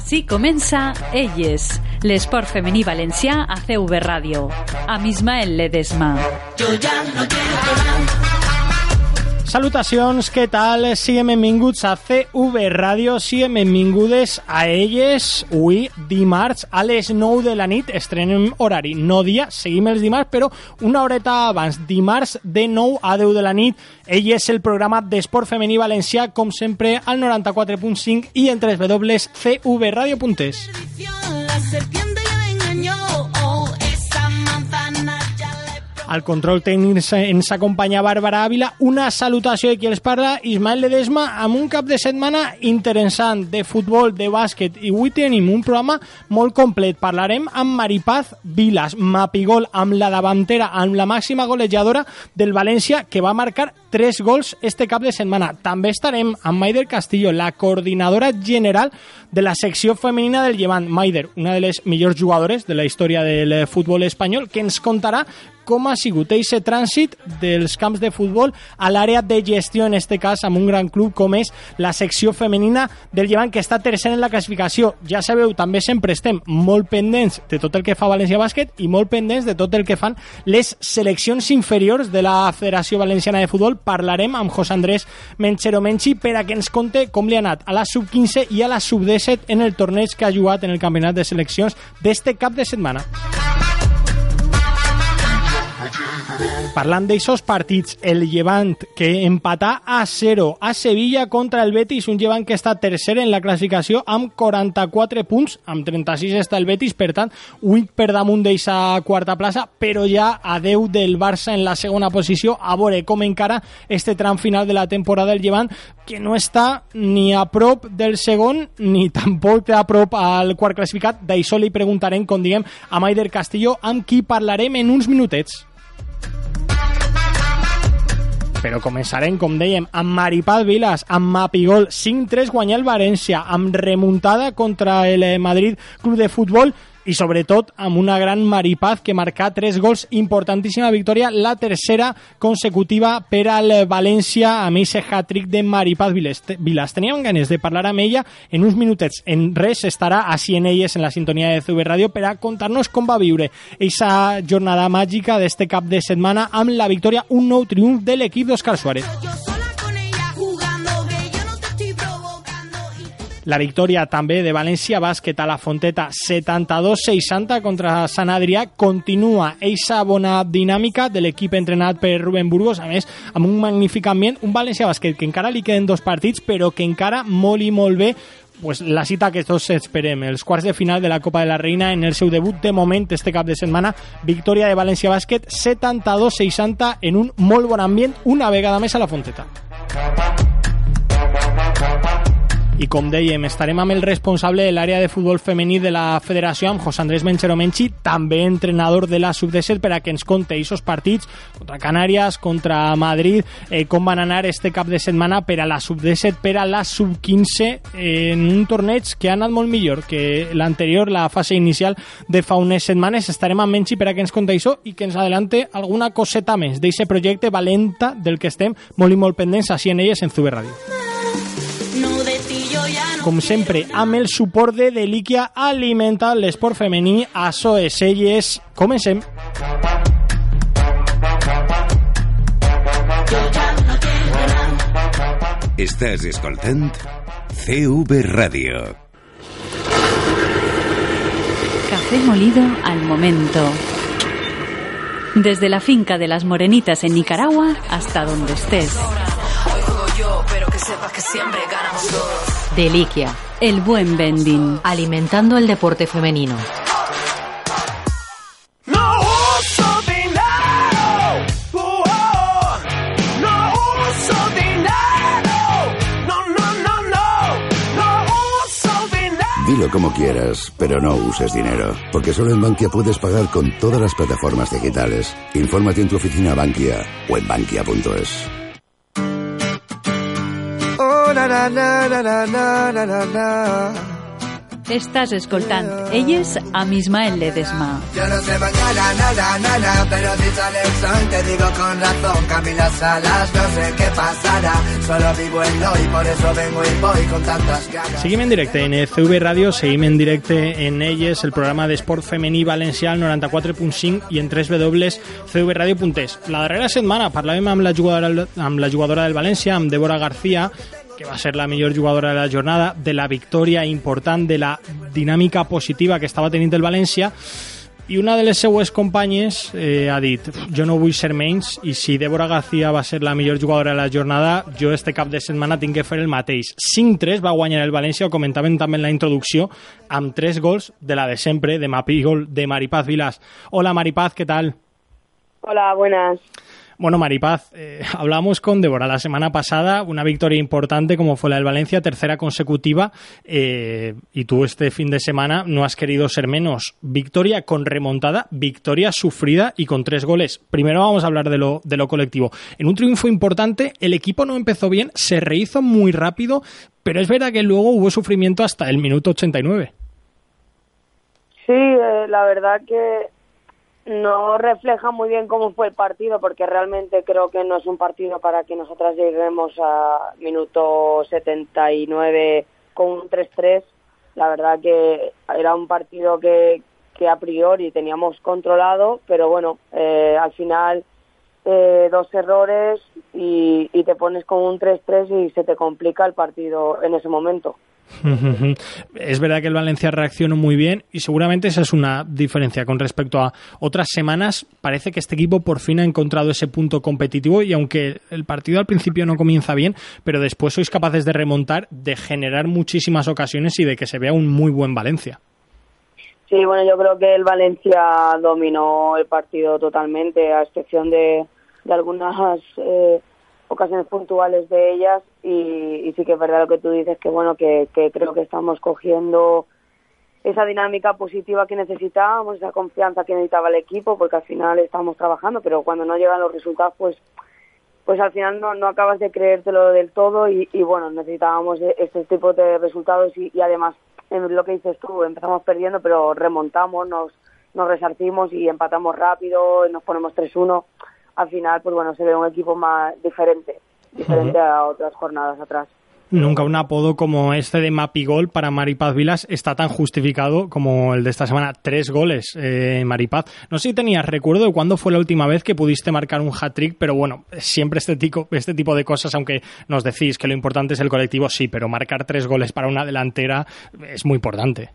Així comença Elles, l'esport femení valencià a CV Ràdio, amb Ismael Ledesma. Jo ja no quiero más. Salutacions, què tal? Siguem benvinguts a CV Ràdio, siguem benvingudes a Elles. Avui, dimarts, a les 9 de la nit, estrenem horari, no dia, seguim els dimarts, però una horeta abans, dimarts de 9 a 10 de la nit. Elles, el programa d'esport femení valencià, com sempre, al 94.5 i en www.cvradio.es. Al control tècnic ens acompanya Bàrbara Ávila. Una salutació de qui els parla, Ismael Ledesma, amb un cap de setmana interessant de futbol, de bàsquet, i avui tenim un programa molt complet. Parlarem amb Maripaz Vilas, Mapigol, amb la davantera, amb la màxima golejadora del València, que va marcar 3 gols este cap de setmana. També estarem amb Maider Castillo, la coordinadora general de la secció femenina del Llevant. Maider, una de les millors jugadores de la història del futbol espanyol, que ens contarà com ha sigut aquest trànsit dels camps de futbol a l'àrea de gestió, en este cas amb un gran club com és la secció femenina del Llevant, que està tercer en la classificació. Ja sabeu, també sempre estem molt pendents de tot el que fa València Bàsquet i molt pendents de tot el que fan les seleccions inferiors de la Federació Valenciana de Futbol. Parlarem amb José Andrés Menchero Menchi per a que ens conte com li ha anat a la sub-15 i a la sub-17 en el torneig que ha jugat en el campionat de seleccions d'este cap de setmana. Parlant d'aixòs partits, el Llevant que empatà a 0 a Sevilla contra el Betis, un Llevant que està tercer en la classificació amb 44 punts, amb 36 està el Betis, per tant 8 per damunt d'eixa quarta plaça, però ja a 10 del Barça en la segona posició. A veure com encara este tram final de la temporada del Llevant, que no està ni a prop del segon ni tampoc a prop al quart classificat. D'això li preguntarem, com diguem, a Maider Castillo, amb qui parlarem en uns minutets. Però començarem, com dèiem, amb Maripaz Vilas, amb Mapigol, 5-3 guanyar el València, amb remuntada contra el Madrid Club de Futbol i sobretot amb una gran Maripaz que marcà 3 gols, importantíssima victòria, la tercera consecutiva per al València amb aquest hat-trick de Maripaz Vilas. Teníem ganes de parlar amb ella en uns minutets. En res estarà així en elles en la sintonia de CV Ràdio per a contar-nos com va viure aquesta jornada màgica d'este cap de setmana amb la victòria, un nou triomf de l'equip d'Òscar Suárez. La victòria també de València Bàsquet a la Fonteta, 72-60 contra Sant Adrià. Continua eixa bona dinàmica de l'equip entrenat per Rubén Burgos, a més amb un magnífic ambient, un València Bàsquet que encara li queden 2 partits però que encara molt i molt bé, pues la cita que tots esperem, els quarts de final de la Copa de la Reina en el seu debut de moment este cap de setmana. Victòria de València Bàsquet 72-60 en un molt bon ambient una vegada més a la Fonteta. I com dèiem, estarem amb el responsable de l'àrea de futbol femení de la federació, amb José Andrés Menchero Menchi, també entrenador de la sub-17, per a que ens conte aquests partits contra Canàries, contra Madrid, com van anar este cap de setmana per a la sub-17, per a la sub-15, en un torneig que ha anat molt millor que l'anterior, la fase inicial de fa unes setmanes. Estarem amb Menchi per a que ens conte això i que ens adelante alguna coseta més d'aquest projecte valenta del que estem molt i molt pendents així en elles en CV Ràdio. Com sempre, amb el suport de Delíquia, alimenta l'esport femení. Açò és Elles. Comencem. Estàs escoltant CV Ràdio. Café molido al momento. Desde la finca de las Morenitas en Nicaragua hasta donde estés. Deliquia, el buen vending, alimentando el deporte femenino. No uso dinero, no uso dinero, no uso dinero. Dilo como quieras, pero no uses dinero, porque solo en Bankia puedes pagar con todas las plataformas digitales. Infórmate en tu oficina Bankia o en bankia.es. Na na na na na na na na. Estàs escoltant Elles amb Ismael Ledesma. Yo no sé mañana, nada, pero si sale el sol te digo con razón, Camila Salas, no sé qué pasará, solo vivo en lo y por eso vengo y voy con tantas ganas. Seguim en directe en CV Ràdio, seguim en directe en Elles, el programa d'esport femení valencià, al 94.5 i en www.cvradio.es. La darrera setmana parlàvem amb la jugadora del València, amb Débora García, que va ser la millor jugadora de la jornada, de la victòria important, de la dinàmica positiva que estava tenint el València, i una de les seues companyes ha dit, jo no vull ser menys, i si Débora García va ser la millor jugadora de la jornada, jo este cap de setmana tinc que fer el mateix. 5-3 va guanyar el València, ho comentàvem també en la introducció, amb 3 gols de la de sempre, de Mapigol, de Maripaz Vilas. Hola Maripaz, ¿qué tal? Hola, buenas. Bueno, Maripaz, hablamos con Débora la semana pasada, una victoria importante como fue la del Valencia, tercera consecutiva, y tú este fin de semana no has querido ser menos. Victoria con remontada, victoria sufrida y con 3 goles. Primero vamos a hablar de lo colectivo. En un triunfo importante, el equipo no empezó bien, se rehizo muy rápido, pero es verdad que luego hubo sufrimiento hasta el minuto 89. Sí, la verdad que no refleja muy bien cómo fue el partido, porque realmente creo que no es un partido para que nosotras lleguemos a minuto 79 con un 3-3. La verdad que era un partido que a priori teníamos controlado, pero bueno, al final 2 errores y te pones con un 3-3 y se te complica el partido en ese momento. Es verdad que el Valencia reaccionó muy bien y seguramente esa es una diferencia con respecto a otras semanas. Parece que este equipo por fin ha encontrado ese punto competitivo y aunque el partido al principio no comienza bien, pero después sois capaces de remontar, de generar muchísimas ocasiones y de que se vea un muy buen Valencia. Sí, bueno, yo creo que el Valencia dominó el partido totalmente, a excepción de algunas ocasiones puntuales de ellas y sí que es verdad lo que tú dices, que bueno, que creo que estamos cogiendo esa dinámica positiva que necesitábamos, esa confianza que necesitaba el equipo, porque al final estamos trabajando, pero cuando no llegan los resultados, pues al final no acabas de creértelo del todo y bueno, necesitábamos este tipo de resultados y además, en lo que dices tú, empezamos perdiendo, pero remontamos, nos resarcimos y empatamos rápido, y nos ponemos 3-1. Al final, pues bueno, se ve un equipo más diferente a otras jornadas atrás. Nunca un apodo como este de Mapigol para Maripaz Vilas está tan justificado como el de esta semana. 3 goles, Maripaz. No sé si tenías recuerdo de cuándo fue la última vez que pudiste marcar un hat-trick, pero bueno, siempre este tipo de cosas, aunque nos decís que lo importante es el colectivo, sí, pero marcar 3 goles para una delantera es muy importante.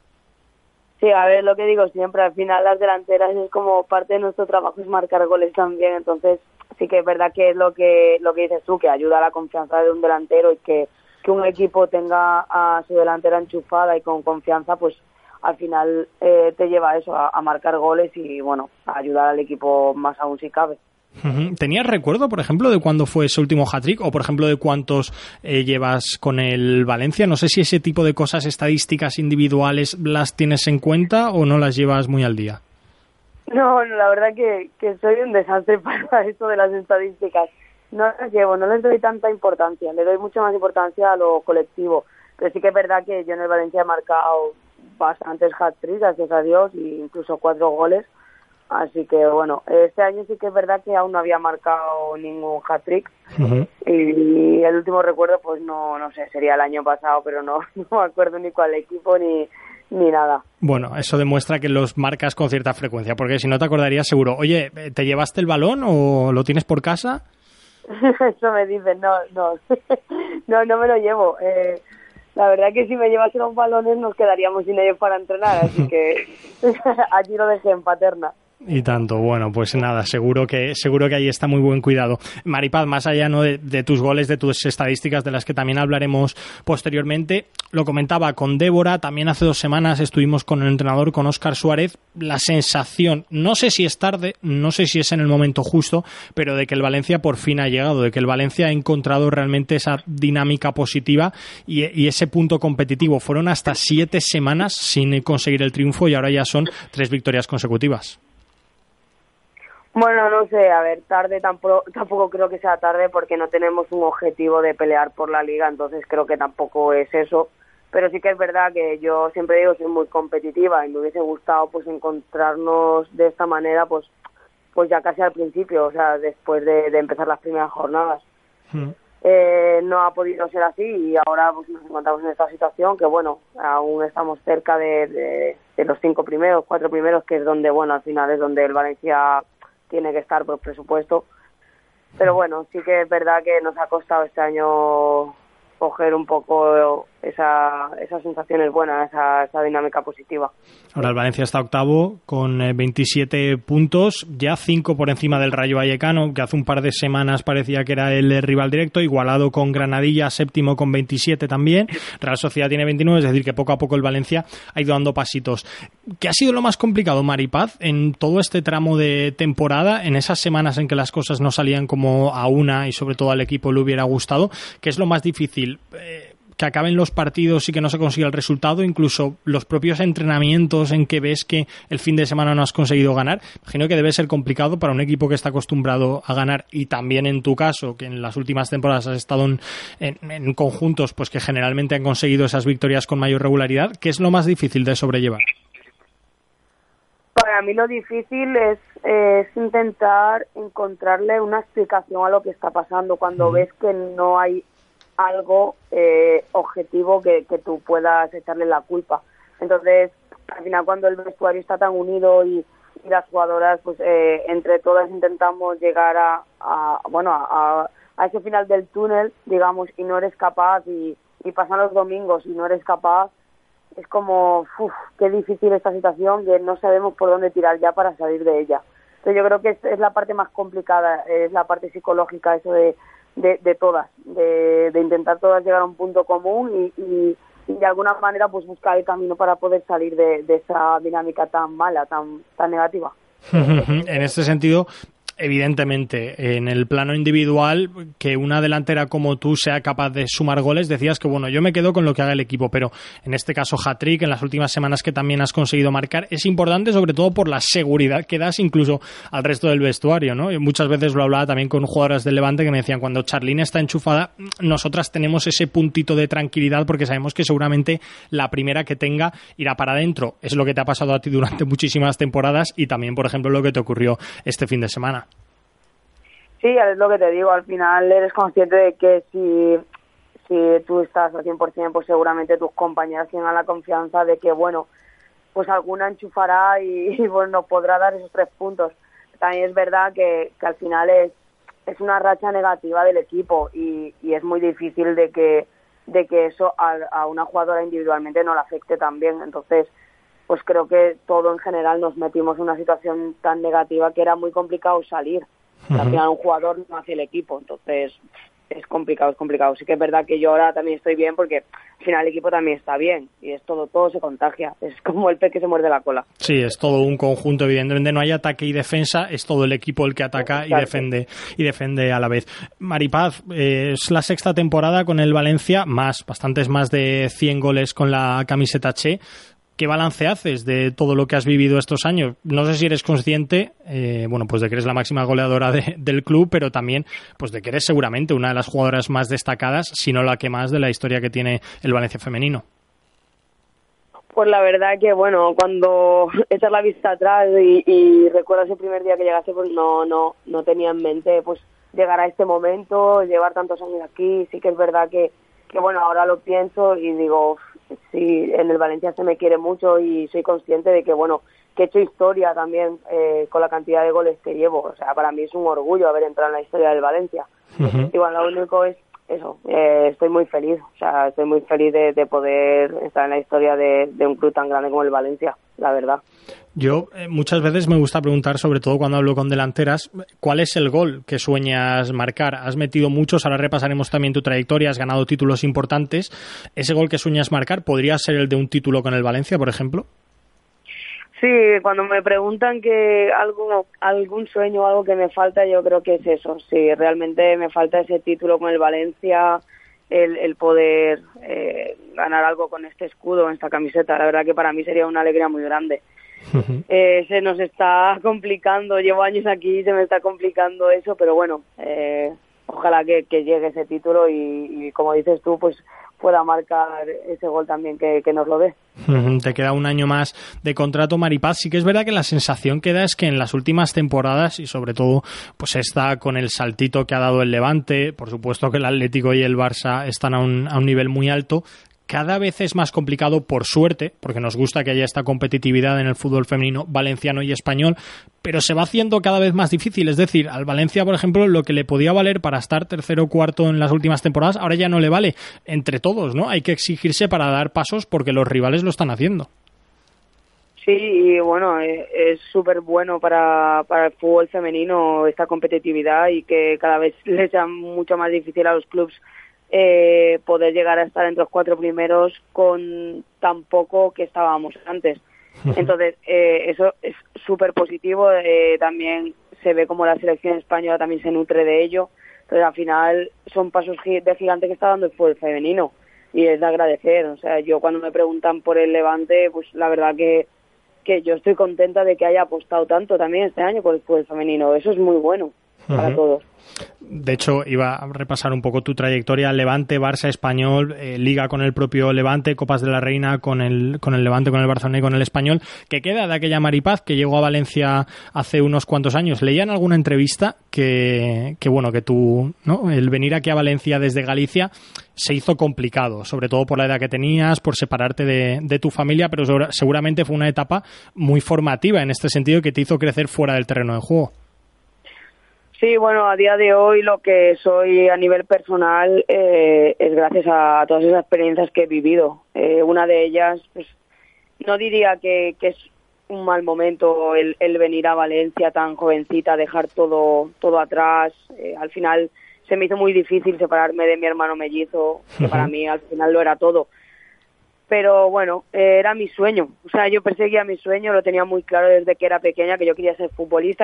Sí, a ver, lo que digo siempre, al final las delanteras es como parte de nuestro trabajo, es marcar goles también, entonces sí que es verdad que es lo que dices tú, que ayuda a la confianza de un delantero y que un equipo tenga a su delantera enchufada y con confianza, pues al final te lleva a eso, a marcar goles y bueno, a ayudar al equipo más aún si cabe. ¿Tenías recuerdo, por ejemplo, de cuándo fue ese último hat-trick o, por ejemplo, de cuántos llevas con el Valencia? No sé si ese tipo de cosas, estadísticas individuales, las tienes en cuenta o no las llevas muy al día. No, la verdad que soy un desastre para esto de las estadísticas. No las llevo, no les doy tanta importancia. Le doy mucha más importancia a lo colectivo. Pero sí que es verdad que yo en el Valencia he marcado bastantes hat-tricks, gracias a Dios, e incluso 4 goles. Así que bueno, este año sí que es verdad que aún no había marcado ningún hat-trick. Y el último recuerdo, pues no sé, sería el año pasado, pero no me acuerdo ni cuál equipo ni nada. Bueno, eso demuestra que los marcas con cierta frecuencia, porque si no te acordarías seguro. Oye, ¿te llevaste el balón o lo tienes por casa? Eso me dicen, no me lo llevo. La verdad que si me llevase los balones nos quedaríamos sin ellos para entrenar, así que allí lo dejé en Paterna. Y tanto, bueno, pues nada, seguro que ahí está muy buen cuidado. Maripaz, más allá ¿no? de tus goles, de tus estadísticas, de las que también hablaremos posteriormente, lo comentaba con Débora, también hace 2 semanas estuvimos con el entrenador, con Óscar Suárez, la sensación, no sé si es tarde, no sé si es en el momento justo, pero de que el Valencia por fin ha llegado, de que el Valencia ha encontrado realmente esa dinámica positiva y ese punto competitivo. Fueron hasta 7 semanas sin conseguir el triunfo y ahora ya son 3 victorias consecutivas. Bueno, no sé, a ver, tarde tampoco creo que sea tarde porque no tenemos un objetivo de pelear por la Liga, entonces creo que tampoco es eso. pero sí que es verdad que yo siempre digo soy muy competitiva y me hubiese gustado pues encontrarnos de esta manera pues ya casi al principio, o sea, después de empezar las primeras jornadas. No ha podido ser así y ahora pues nos encontramos en esta situación que bueno, aún estamos cerca de los 4 primeros, que es donde, bueno, al final es donde el Valencia tiene que estar por presupuesto, pero bueno, sí que es verdad que nos ha costado este año coger un poco esas sensaciones buenas, esa dinámica positiva. Ahora el Valencia está octavo con 27 puntos, ya 5 por encima del Rayo Vallecano, que hace un par de semanas parecía que era el rival directo, igualado con Granadilla, séptimo con 27 también. Real Sociedad tiene 29, es decir, que poco a poco el Valencia ha ido dando pasitos. ¿Qué ha sido lo más complicado, Mari Paz, en todo este tramo de temporada, en esas semanas en que las cosas no salían como a una y sobre todo al equipo le hubiera gustado? ¿Qué es lo más difícil? Que acaben los partidos y que no se consiga el resultado, incluso los propios entrenamientos en que ves que el fin de semana no has conseguido ganar. Imagino que debe ser complicado para un equipo que está acostumbrado a ganar, y también en tu caso, que en las últimas temporadas has estado en conjuntos pues que generalmente han conseguido esas victorias con mayor regularidad. ¿Qué es lo más difícil de sobrellevar? Para mí lo difícil es intentar encontrarle una explicación a lo que está pasando cuando ves que no hay algo objetivo que tú puedas echarle la culpa. Entonces, al final, cuando el vestuario está tan unido y las jugadoras, pues entre todas intentamos llegar a ese final del túnel, digamos, y no eres capaz, y pasan los domingos y no eres capaz, es como, qué difícil esta situación, que no sabemos por dónde tirar ya para salir de ella. Entonces yo creo que es la parte más complicada, es la parte psicológica, eso de todas, de intentar todas llegar a un punto común y de alguna manera pues buscar el camino para poder salir de esa dinámica tan mala, tan negativa. En este sentido, evidentemente, en el plano individual, que una delantera como tú sea capaz de sumar goles, decías que bueno, yo me quedo con lo que haga el equipo, pero en este caso hat-trick, en las últimas semanas que también has conseguido marcar, es importante sobre todo por la seguridad que das incluso al resto del vestuario, ¿no? Yo muchas veces lo hablaba también con jugadoras del Levante que me decían, cuando Charlín está enchufada, nosotras tenemos ese puntito de tranquilidad porque sabemos que seguramente la primera que tenga irá para adentro. Es lo que te ha pasado a ti durante muchísimas temporadas y también, por ejemplo, lo que te ocurrió este fin de semana. Sí, es lo que te digo, al final eres consciente de que si tú estás al 100%, pues seguramente tus compañeras tengan la confianza de que, bueno, pues alguna enchufará y bueno, podrá dar esos 3 puntos. También es verdad que al final es una racha negativa del equipo y es muy difícil de que eso a una jugadora individualmente no la afecte también. Entonces, pues creo que todo en general nos metimos en una situación tan negativa que era muy complicado salir. Al final un jugador no hace el equipo, entonces es complicado. Sí que es verdad que yo ahora también estoy bien porque al final el equipo también está bien y es todo se contagia, es como el pez que se muerde la cola. Sí, es todo un conjunto, evidentemente no hay ataque y defensa, es todo el equipo el que ataca y defiende a la vez. Mari Paz, es la 6ª temporada con el Valencia, bastantes más de 100 goles con la camiseta Che. ¿Qué balance haces de todo lo que has vivido estos años? No sé si eres consciente, pues de que eres la máxima goleadora del club, pero también pues de que eres seguramente una de las jugadoras más destacadas, si no la que más, de la historia que tiene el Valencia femenino. Pues la verdad que, bueno, cuando echas la vista atrás y recuerdo ese primer día que llegaste, pues no tenía en mente pues llegar a este momento, llevar tantos años aquí. Sí que es verdad que bueno, ahora lo pienso y digo, sí, en el Valencia se me quiere mucho y soy consciente de que, bueno, que he hecho historia también con la cantidad de goles que llevo. O sea, para mí es un orgullo haber entrado en la historia del Valencia. Y bueno, lo único es eso, estoy muy feliz. O sea, estoy muy feliz de poder estar en la historia de un club tan grande como el Valencia, la verdad. Yo muchas veces me gusta preguntar, sobre todo cuando hablo con delanteras, ¿cuál es el gol que sueñas marcar? Has metido muchos, ahora repasaremos también tu trayectoria, has ganado títulos importantes. ¿Ese gol que sueñas marcar podría ser el de un título con el Valencia, por ejemplo? Sí, cuando me preguntan que algún sueño o algo que me falta, yo creo que es eso. Sí, realmente me falta ese título con el Valencia, el poder ganar algo con este escudo, esta camiseta. La verdad que para mí sería una alegría muy grande. Se nos está complicando, llevo años aquí y se me está complicando eso, pero bueno, ojalá que llegue ese título y como dices tú, pues pueda marcar ese gol también que nos lo dé. Te queda un año más de contrato, Maripaz. Sí que es verdad que la sensación que da es que en las últimas temporadas, y sobre todo pues está con el saltito que ha dado el Levante, por supuesto que el Atlético y el Barça están a un nivel muy alto, cada vez es más complicado, por suerte, porque nos gusta que haya esta competitividad en el fútbol femenino valenciano y español, pero se va haciendo cada vez más difícil. Es decir, al Valencia, por ejemplo, lo que le podía valer para estar tercero o cuarto en las últimas temporadas, ahora ya no le vale. Entre todos, ¿no? Hay que exigirse para dar pasos porque los rivales lo están haciendo. Sí, y bueno, es súper bueno para el fútbol femenino esta competitividad y que cada vez les sea mucho más difícil a los clubes poder llegar a estar entre los 4 primeros con tan poco que estábamos antes. Entonces, eso es súper positivo. También se ve como la selección española también se nutre de ello. Entonces, al final, son pasos de gigante que está dando el fútbol femenino y es de agradecer. O sea, yo cuando me preguntan por el Levante, pues la verdad que yo estoy contenta de que haya apostado tanto también este año por el fútbol femenino. Eso es muy bueno para todos. De hecho, iba a repasar un poco tu trayectoria: Levante, Barça, Español, Liga con el propio Levante, Copas de la Reina con el Levante, con el Barcelona y con el Español. ¿Qué queda de aquella Maripaz que llegó a Valencia hace unos cuantos años? Leía en alguna entrevista que tú, ¿no?, el venir aquí a Valencia desde Galicia se hizo complicado, sobre todo por la edad que tenías, por separarte de tu familia, pero seguramente fue una etapa muy formativa en este sentido que te hizo crecer fuera del terreno de juego. Sí, bueno, a día de hoy lo que soy a nivel personal es gracias a todas esas experiencias que he vivido. Una de ellas, pues, no diría que es un mal momento el venir a Valencia tan jovencita, dejar todo atrás. Al final se me hizo muy difícil separarme de mi hermano mellizo, que para mí al final lo era todo. Pero bueno, era mi sueño. O sea, yo perseguía mi sueño, lo tenía muy claro desde que era pequeña, que yo quería ser futbolista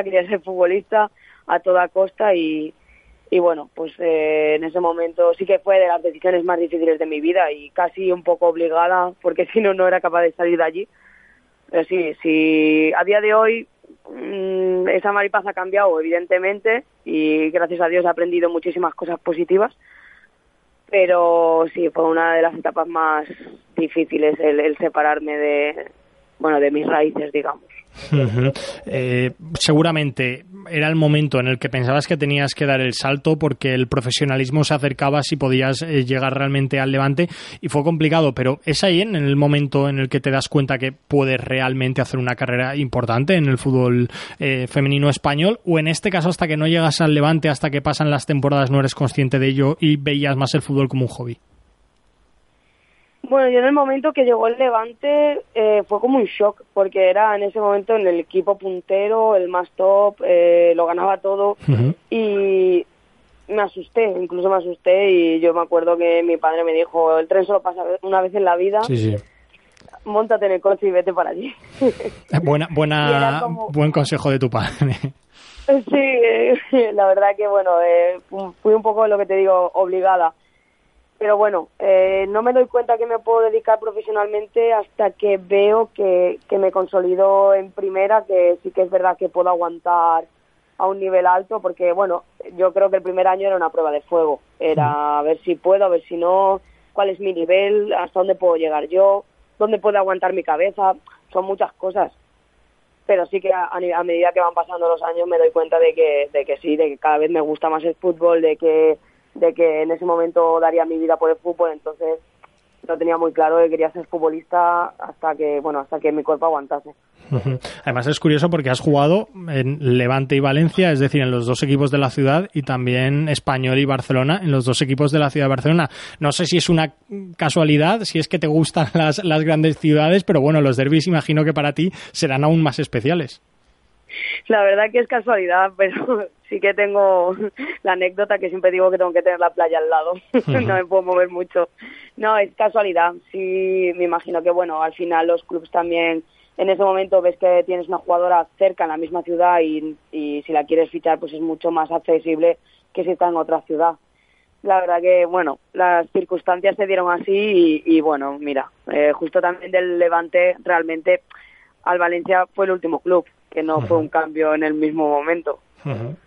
a toda costa y bueno, pues en ese momento sí que fue de las decisiones más difíciles de mi vida y casi un poco obligada, porque si no era capaz de salir de allí. Pero sí, a día de hoy esa Maripaz ha cambiado, evidentemente, y gracias a Dios he aprendido muchísimas cosas positivas, pero sí, fue una de las etapas más difíciles el separarme de mis raíces, digamos. Seguramente era el momento en el que pensabas que tenías que dar el salto porque el profesionalismo se acercaba si podías llegar realmente al Levante, y fue complicado, pero es ahí en el momento en el que te das cuenta que puedes realmente hacer una carrera importante en el fútbol femenino español, o en este caso hasta que no llegas al Levante, hasta que pasan las temporadas, no eres consciente de ello y veías más el fútbol como un hobby. Bueno, yo en el momento que llegó el Levante fue como un shock, porque era en ese momento en el equipo puntero, el más top, lo ganaba todo, y me asusté y yo me acuerdo que mi padre me dijo, el tren solo pasa una vez en la vida, móntate en el coche y vete para allí. Buen consejo de tu padre. Sí, la verdad que bueno, fui un poco, lo que te digo, obligada. Pero bueno, no me doy cuenta que me puedo dedicar profesionalmente hasta que veo que me consolido en primera, que sí que es verdad que puedo aguantar a un nivel alto, porque bueno, yo creo que el primer año era una prueba de fuego, era a ver si puedo, a ver si no, cuál es mi nivel, hasta dónde puedo llegar yo, dónde puede aguantar mi cabeza, son muchas cosas. Pero sí que a medida que van pasando los años me doy cuenta de que sí, de que cada vez me gusta más el fútbol, de que en ese momento daría mi vida por el fútbol. Entonces lo tenía muy claro que quería ser futbolista hasta que mi cuerpo aguantase. Además es curioso porque has jugado en Levante y Valencia, es decir, en los dos equipos de la ciudad, y también Español y Barcelona en los dos equipos de la ciudad de Barcelona. No sé si es una casualidad, si es que te gustan las grandes ciudades, pero bueno, los derbis imagino que para ti serán aún más especiales. La verdad que es casualidad, pero sí que tengo la anécdota que siempre digo que tengo que tener la playa al lado. No me puedo mover mucho. No, es casualidad. Sí, me imagino que bueno, al final los clubes también, en ese momento ves que tienes una jugadora cerca en la misma ciudad y si la quieres fichar pues es mucho más accesible que si está en otra ciudad. La verdad que bueno, las circunstancias se dieron así y bueno, mira, justo también del Levante realmente al Valencia fue el último club, que no fue un cambio en el mismo momento.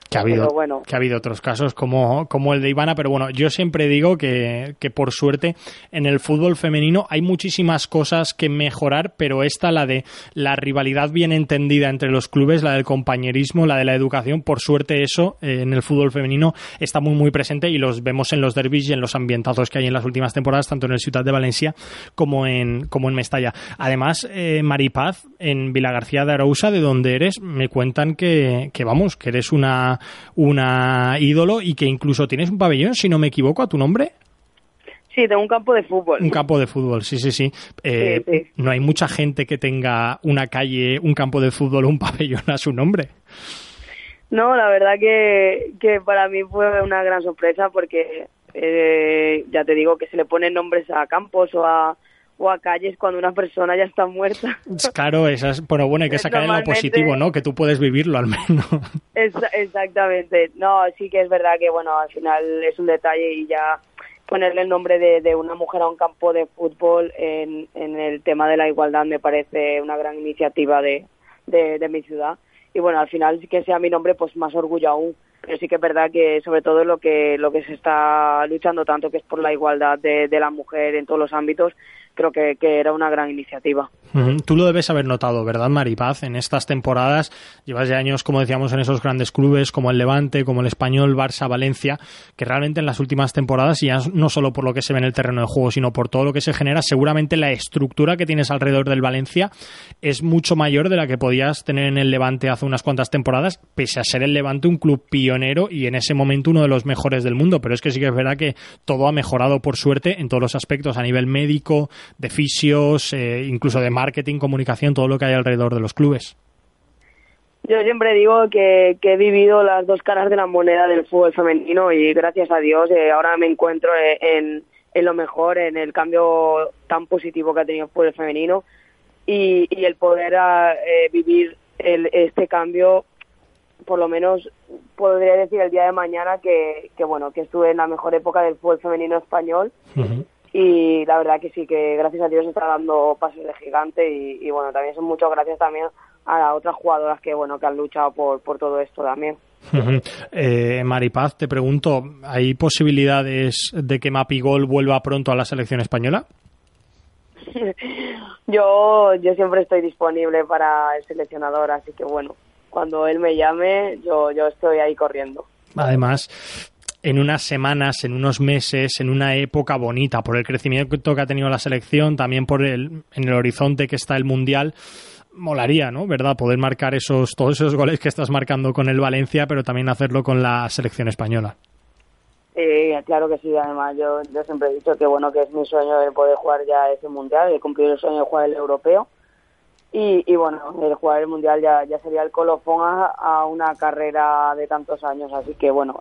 Que ha habido otros casos como el de Ivana, pero bueno, yo siempre digo que por suerte en el fútbol femenino hay muchísimas cosas que mejorar, pero la de la rivalidad bien entendida entre los clubes, la del compañerismo, la de la educación, por suerte eso en el fútbol femenino está muy muy presente y los vemos en los derbis y en los ambientazos que hay en las últimas temporadas, tanto en el Ciutat de Valencia como en Mestalla. Además, Maripaz, en Vilagarcía de Arousa, de donde eres, me cuentan que eres una ídolo y que incluso tienes un pabellón, si no me equivoco, a tu nombre. Sí, tengo un campo de fútbol. Un campo de fútbol, sí. Sí. No hay mucha gente que tenga una calle, un campo de fútbol o un pabellón a su nombre. No, la verdad que para mí fue una gran sorpresa porque ya te digo que se le ponen nombres a campos o a calles cuando una persona ya está muerta. Claro, bueno, hay que sacar en lo positivo, ¿no? Que tú puedes vivirlo al menos. Exactamente. No, sí que es verdad que, bueno, al final es un detalle y ya ponerle el nombre de una mujer a un campo de fútbol en el tema de la igualdad me parece una gran iniciativa de mi ciudad. Y bueno, al final que sea mi nombre, pues más orgullo aún. Pero sí que es verdad que sobre todo lo que se está luchando tanto, que es por la igualdad de la mujer en todos los ámbitos, creo que era una gran iniciativa. Tú lo debes haber notado, ¿verdad, Maripaz? En estas temporadas llevas ya años, como decíamos, en esos grandes clubes como el Levante, como el Español, Barça, Valencia, que realmente en las últimas temporadas, y ya no solo por lo que se ve en el terreno de juego, sino por todo lo que se genera, seguramente la estructura que tienes alrededor del Valencia es mucho mayor de la que podías tener en el Levante hace unas cuantas temporadas, pese a ser el Levante un club pionero y en ese momento uno de los mejores del mundo. Pero es que sí que es verdad que todo ha mejorado, por suerte, en todos los aspectos, a nivel médico, de fisios, incluso de marketing, comunicación, todo lo que hay alrededor de los clubes. Yo siempre digo que he vivido las dos caras de la moneda del fútbol femenino y gracias a Dios ahora me encuentro en lo mejor, en el cambio tan positivo que ha tenido el fútbol femenino y el poder vivir este cambio, por lo menos podría decir el día de mañana que estuve en la mejor época del fútbol femenino español. Uh-huh. Y la verdad que sí, que gracias a Dios está dando pasos de gigante y bueno, también son muchas gracias también a las otras jugadoras que han luchado por todo esto también. Maripaz, te pregunto, ¿hay posibilidades de que Mapigol vuelva pronto a la selección española? yo siempre estoy disponible para el seleccionador, así que bueno, cuando él me llame, yo estoy ahí corriendo. Además, en unas semanas, en unos meses, en una época bonita, por el crecimiento que ha tenido la selección, también en el horizonte que está el Mundial, molaría, ¿no? ¿Verdad? Poder marcar todos esos goles que estás marcando con el Valencia, pero también hacerlo con la selección española. Claro que sí, además yo siempre he dicho que que es mi sueño el poder jugar ya ese Mundial, el cumplir el sueño de jugar el europeo. Y bueno, el jugar el Mundial ya sería el colofón a una carrera de tantos años, así que bueno,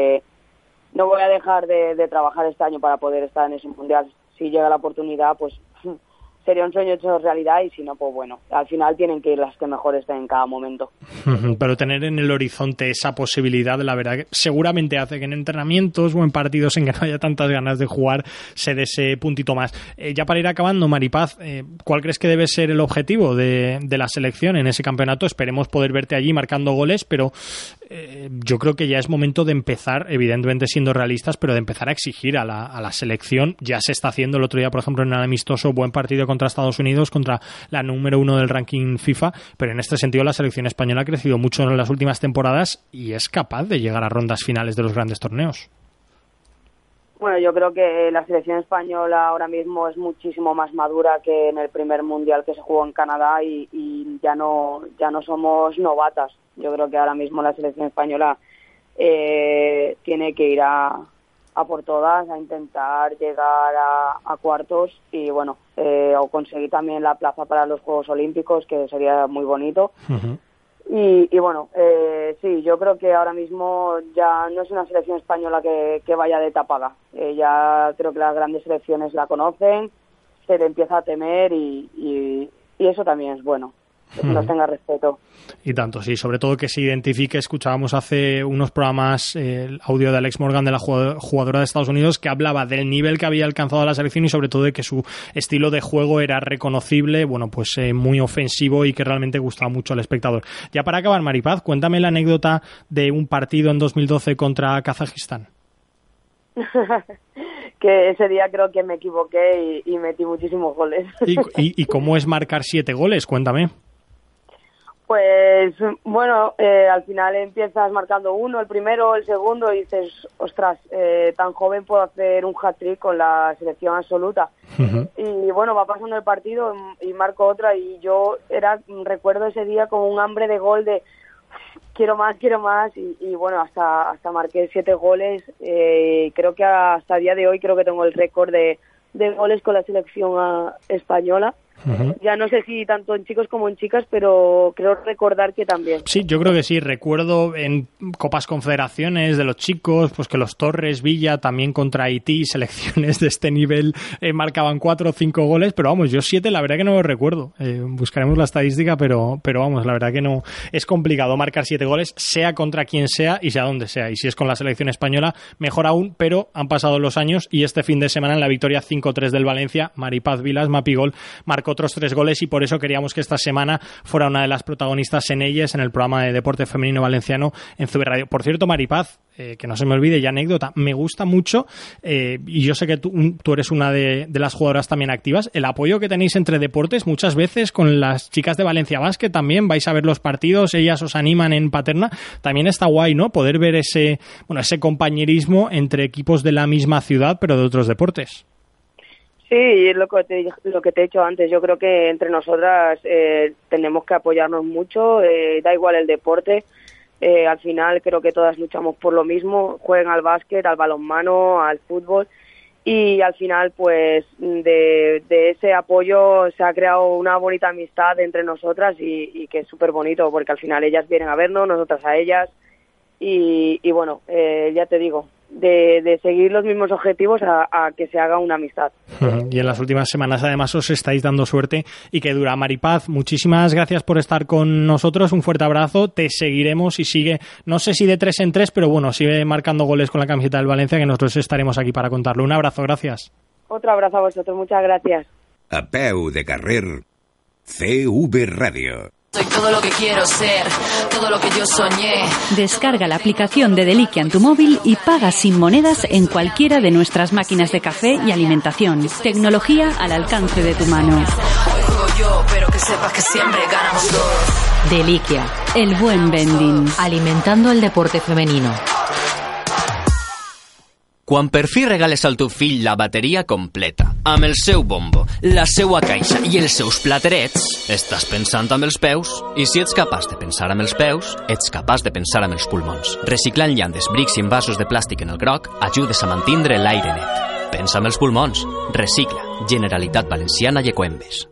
no voy a dejar de trabajar este año para poder estar en ese Mundial. Si llega la oportunidad, pues sería un sueño hecho realidad y si no, pues bueno, al final tienen que ir las que mejor estén en cada momento. Pero tener en el horizonte esa posibilidad, la verdad, que seguramente hace que en entrenamientos o en partidos en que no haya tantas ganas de jugar se dé ese puntito más. Ya para ir acabando, Maripaz, ¿cuál crees que debe ser el objetivo de la selección en ese campeonato? Esperemos poder verte allí marcando goles, pero yo creo que ya es momento de empezar, evidentemente siendo realistas, pero de empezar a exigir a la selección. Ya se está haciendo el otro día, por ejemplo, en el amistoso, buen partido contra Estados Unidos, contra la número 1 del ranking FIFA, pero en este sentido la selección española ha crecido mucho en las últimas temporadas y es capaz de llegar a rondas finales de los grandes torneos. Bueno, yo creo que la selección española ahora mismo es muchísimo más madura que en el primer mundial que se jugó en Canadá y ya no somos novatas. Yo creo que ahora mismo la selección española tiene que ir a por todas, a intentar llegar a cuartos y bueno, o conseguir también la plaza para los Juegos Olímpicos, que sería muy bonito. Uh-huh. Y bueno, sí, yo creo que ahora mismo ya no es una selección española que vaya de tapada. Ya creo que las grandes selecciones la conocen, se le empieza a temer y eso también es bueno. nos tenga respeto. Y tanto, sí, sobre todo que se identifique. Escuchábamos hace unos programas el audio de Alex Morgan, de la jugadora de Estados Unidos, que hablaba del nivel que había alcanzado la selección y sobre todo de que su estilo de juego era reconocible, bueno, pues muy ofensivo y que realmente gustaba mucho al espectador. Ya para acabar, Maripaz, cuéntame la anécdota de un partido en 2012 contra Kazajistán. Que ese día creo que me equivoqué y metí muchísimos goles. ¿Y cómo es marcar 7 goles? Cuéntame. Pues bueno, al final empiezas marcando uno, el primero, el segundo, y dices, ostras, tan joven puedo hacer un hat-trick con la selección absoluta. Uh-huh. Y bueno, va pasando el partido y marco otra, y yo recuerdo ese día como un hambre de gol de quiero más, y bueno, hasta marqué 7 goles. Creo que hasta el día de hoy creo que tengo el récord de goles con la selección española. Uh-huh. Ya no sé si tanto en chicos como en chicas, pero creo recordar que también. Sí, yo creo que sí. Recuerdo en Copas Confederaciones de los chicos, pues que los Torres, Villa, también contra Haití, selecciones de este nivel marcaban 4 o 5 goles, pero vamos, yo 7 la verdad que no lo recuerdo. Buscaremos la estadística, pero vamos, la verdad que no. Es complicado marcar 7 goles, sea contra quien sea y sea donde sea. Y si es con la selección española, mejor aún, pero han pasado los años y este fin de semana en la victoria 5-3 del Valencia, Maripaz Vilas, Mapigol, marcó otros 3 goles y por eso queríamos que esta semana fuera una de las protagonistas en ellas, en el programa de deporte femenino valenciano en CB Radio. Por cierto, Maripaz, que no se me olvide, ya anécdota, me gusta mucho, y yo sé que tú eres una de las jugadoras también activas, el apoyo que tenéis entre deportes muchas veces con las chicas de Valencia Basket también, vais a ver los partidos, ellas os animan en Paterna, también está guay, ¿no? Poder ver ese compañerismo entre equipos de la misma ciudad pero de otros deportes. Sí, es lo que te he dicho antes. Yo creo que entre nosotras tenemos que apoyarnos mucho, da igual el deporte. Al final creo que todas luchamos por lo mismo, jueguen al básquet, al balonmano, al fútbol, y al final pues de ese apoyo se ha creado una bonita amistad entre nosotras y que es súper bonito, porque al final ellas vienen a vernos, nosotras a ellas, y bueno, ya te digo, de seguir los mismos objetivos a que se haga una amistad. Y en las últimas semanas además os estáis dando suerte y que dura. Maripaz, muchísimas gracias por estar con nosotros, un fuerte abrazo, te seguiremos y sigue, no sé si de 3 en 3, pero bueno, sigue marcando goles con la camiseta del Valencia, que nosotros estaremos aquí para contarlo. Un abrazo, gracias. Otro abrazo a vosotros, muchas gracias. A peu de carrer, CV Radio. Soy todo lo que quiero ser, todo lo que yo soñé. Descarga la aplicación de Deliquia en tu móvil y paga sin monedas en cualquiera de nuestras máquinas de café y alimentación. Tecnología al alcance de tu mano. Hoy juego yo, pero que sepas que siempre ganamos todos. Deliquia, el buen vending. Alimentando el deporte femenino. Quan per fi regales al teu fill la bateria completa, amb el seu bombo, la seua caixa i els seus platerets, estàs pensant amb els peus, i si ets capaç de pensar amb els peus, ets capaç de pensar amb els pulmons. Reciclant llandes, brics i envasos de plàstic en el groc, ajudes a mantindre l'aire net. Pensa amb els pulmons. Recicla. Generalitat Valenciana i Ecoembes.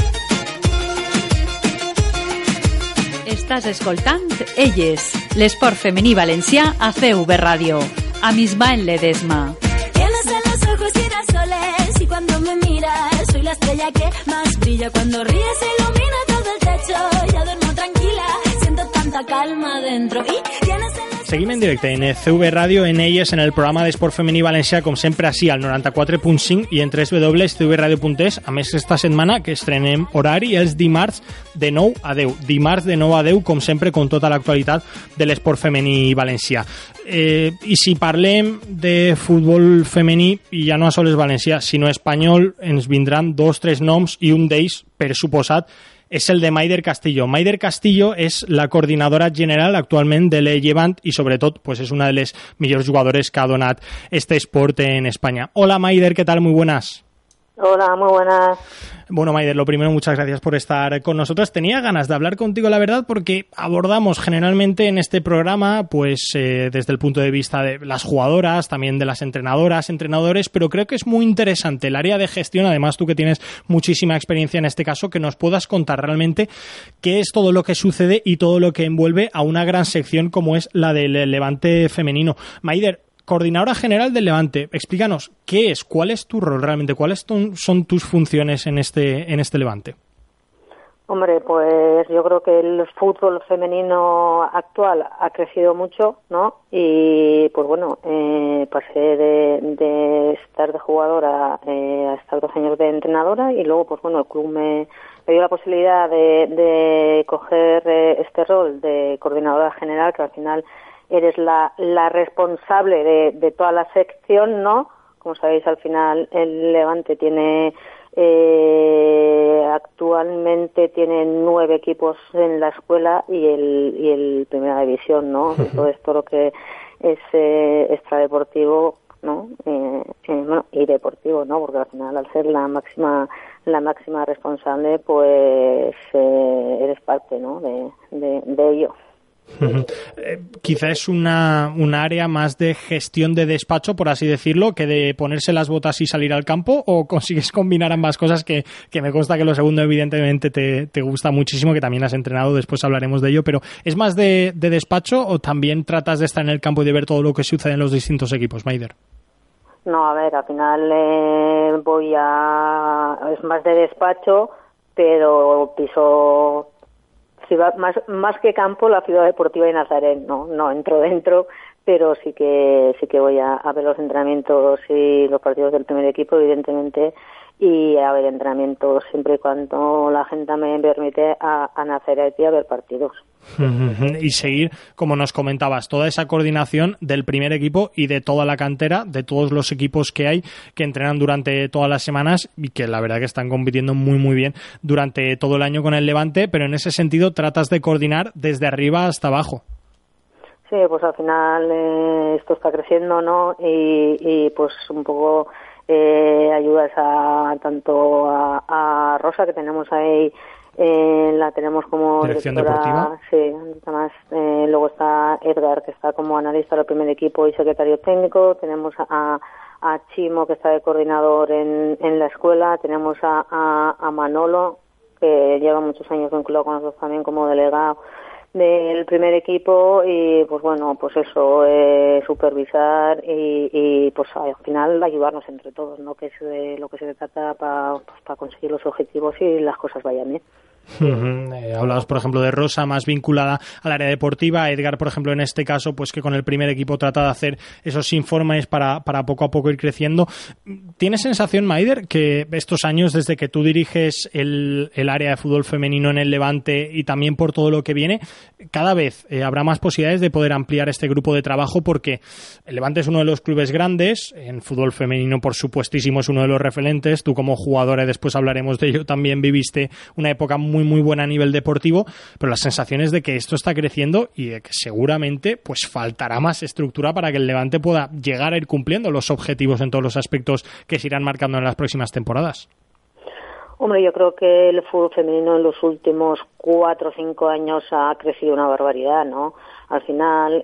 Estàs escoltant Elles, l'esport femení valencià a CV Radio. A Ismael Ledesma. Tienes en los ojos girasoles y cuando me miras soy la estrella que más brilla. Cuando ríes se ilumina todo el techo. Ya duermo tranquila, siento tanta calma dentro. Y tienes en los... Seguim en directe en CV Radio, en Elles, en el programa d'esport femení valencià, com sempre, així, al 94.5 i en www.cvradio.es. A més, esta setmana que estrenem horari els dimarts de 9 a 10. Dimarts de 9 a 10, com sempre, con tota l'actualitat de l'esport femení valencià. I si parlem de futbol femení, i ja no a sols valencià, sinó espanyol, ens vindran 2 o 3 noms i un d'ells, per suposat, és el de Maider Castillo. Maider Castillo és la coordinadora general actualment de l'Ellevant i sobretot pues, és una de les millors jugadores que ha donat este esport en España. Hola Maider, ¿qué tal? Muy buenas. Hola, muy buenas. Bueno, Maider, lo primero, muchas gracias por estar con nosotros. Tenía ganas de hablar contigo, la verdad, porque abordamos generalmente en este programa, pues desde el punto de vista de las jugadoras, también de las entrenadoras, entrenadores, pero creo que es muy interesante el área de gestión, además tú que tienes muchísima experiencia en este caso, que nos puedas contar realmente qué es todo lo que sucede y todo lo que envuelve a una gran sección como es la del Levante femenino. Maider, coordinadora general del Levante, explícanos qué es, cuál es tu rol realmente, cuáles son tus funciones en este Levante. Hombre, pues yo creo que el fútbol femenino actual ha crecido mucho, ¿no? Y pues bueno, pasé de estar de jugadora a estar 2 años de entrenadora, y luego pues bueno, el club me dio la posibilidad de coger este rol de coordinadora general, que al final eres la responsable de toda la sección, ¿no? Como sabéis, al final el Levante tiene actualmente tiene 9 equipos en la escuela y el Primera División, ¿no? Todo esto lo que es extradeportivo, ¿no? Bueno, y deportivo, ¿no? Porque al final, al ser la máxima responsable, pues eres parte, ¿no? de ello. Quizá es una área más de gestión de despacho, por así decirlo, que de ponerse las botas y salir al campo, o consigues combinar ambas cosas, que me consta que lo segundo evidentemente te gusta muchísimo, que también has entrenado, después hablaremos de ello, pero ¿es más de despacho o también tratas de estar en el campo y de ver todo lo que sucede en los distintos equipos, Maider? No, a ver, al final es más de despacho, pero piso ciudad, más que campo, la ciudad deportiva de Nazaret, no entro dentro, pero sí que voy a ver los entrenamientos y los partidos del primer equipo, evidentemente, y a ver entrenamientos siempre y cuando la gente me permite a Nazaret y a ver partidos. Y seguir, como nos comentabas, toda esa coordinación del primer equipo y de toda la cantera, de todos los equipos que hay, que entrenan durante todas las semanas y que la verdad que están compitiendo muy muy bien durante todo el año con el Levante, pero en ese sentido tratas de coordinar desde arriba hasta abajo. Sí, pues al final esto está creciendo, ¿no? Y pues un poco ayudas tanto a Rosa, que tenemos ahí, la tenemos como dirección directora, deportiva. Sí, además luego está Edgar, que está como analista del primer equipo y secretario técnico. Tenemos a Chimo, que está de coordinador en la escuela. Tenemos a Manolo, que lleva muchos años vinculado con nosotros también como delegado del primer equipo, y pues bueno, pues eso, supervisar y pues al final ayudarnos entre todos, ¿no? Que es de lo que se trata para conseguir los objetivos y las cosas vayan bien. Hablabas, por ejemplo, de Rosa, más vinculada al área deportiva. Edgar, por ejemplo, en este caso, pues que con el primer equipo trata de hacer esos informes para poco a poco ir creciendo. ¿Tienes sensación, Maider, que estos años, desde que tú diriges el área de fútbol femenino en el Levante y también por todo lo que viene, cada vez habrá más posibilidades de poder ampliar este grupo de trabajo? Porque el Levante es uno de los clubes grandes, en fútbol femenino, por supuestísimo, es uno de los referentes. Tú como jugadora, y después hablaremos de ello, también viviste una época muy muy buena a nivel deportivo, pero la sensación es de que esto está creciendo y de que seguramente pues faltará más estructura para que el Levante pueda llegar a ir cumpliendo los objetivos en todos los aspectos que se irán marcando en las próximas temporadas. Hombre, yo creo que el fútbol femenino en los últimos 4 o 5 años ha crecido una barbaridad, ¿no? Al final,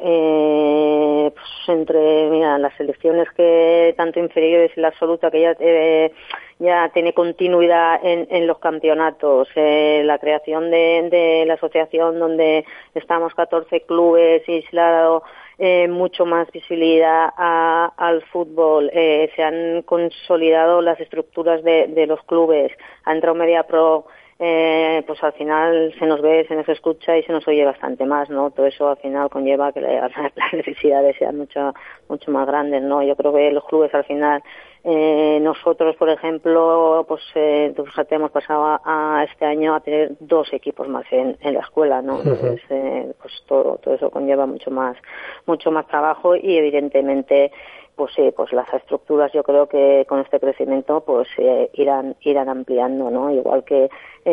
pues entre las selecciones que tanto inferiores y la absoluta, que ya tiene continuidad en los campeonatos, la creación de la asociación donde estamos 14 clubes y se le ha dado mucho más visibilidad al fútbol, se han consolidado las estructuras de los clubes, ha entrado MediaPro, pues al final se nos ve, se nos escucha y se nos oye bastante más, ¿no? Todo eso al final conlleva que las necesidades sean mucho más grandes, ¿no? Yo creo que los clubes al final, nosotros, por ejemplo, pues fíjate, hemos pasado a este año a tener 2 equipos más en la escuela, ¿no? Entonces, pues todo eso conlleva mucho más trabajo y evidentemente pues sí, pues las estructuras yo creo que con este crecimiento pues irán ampliando, ¿no? Igual que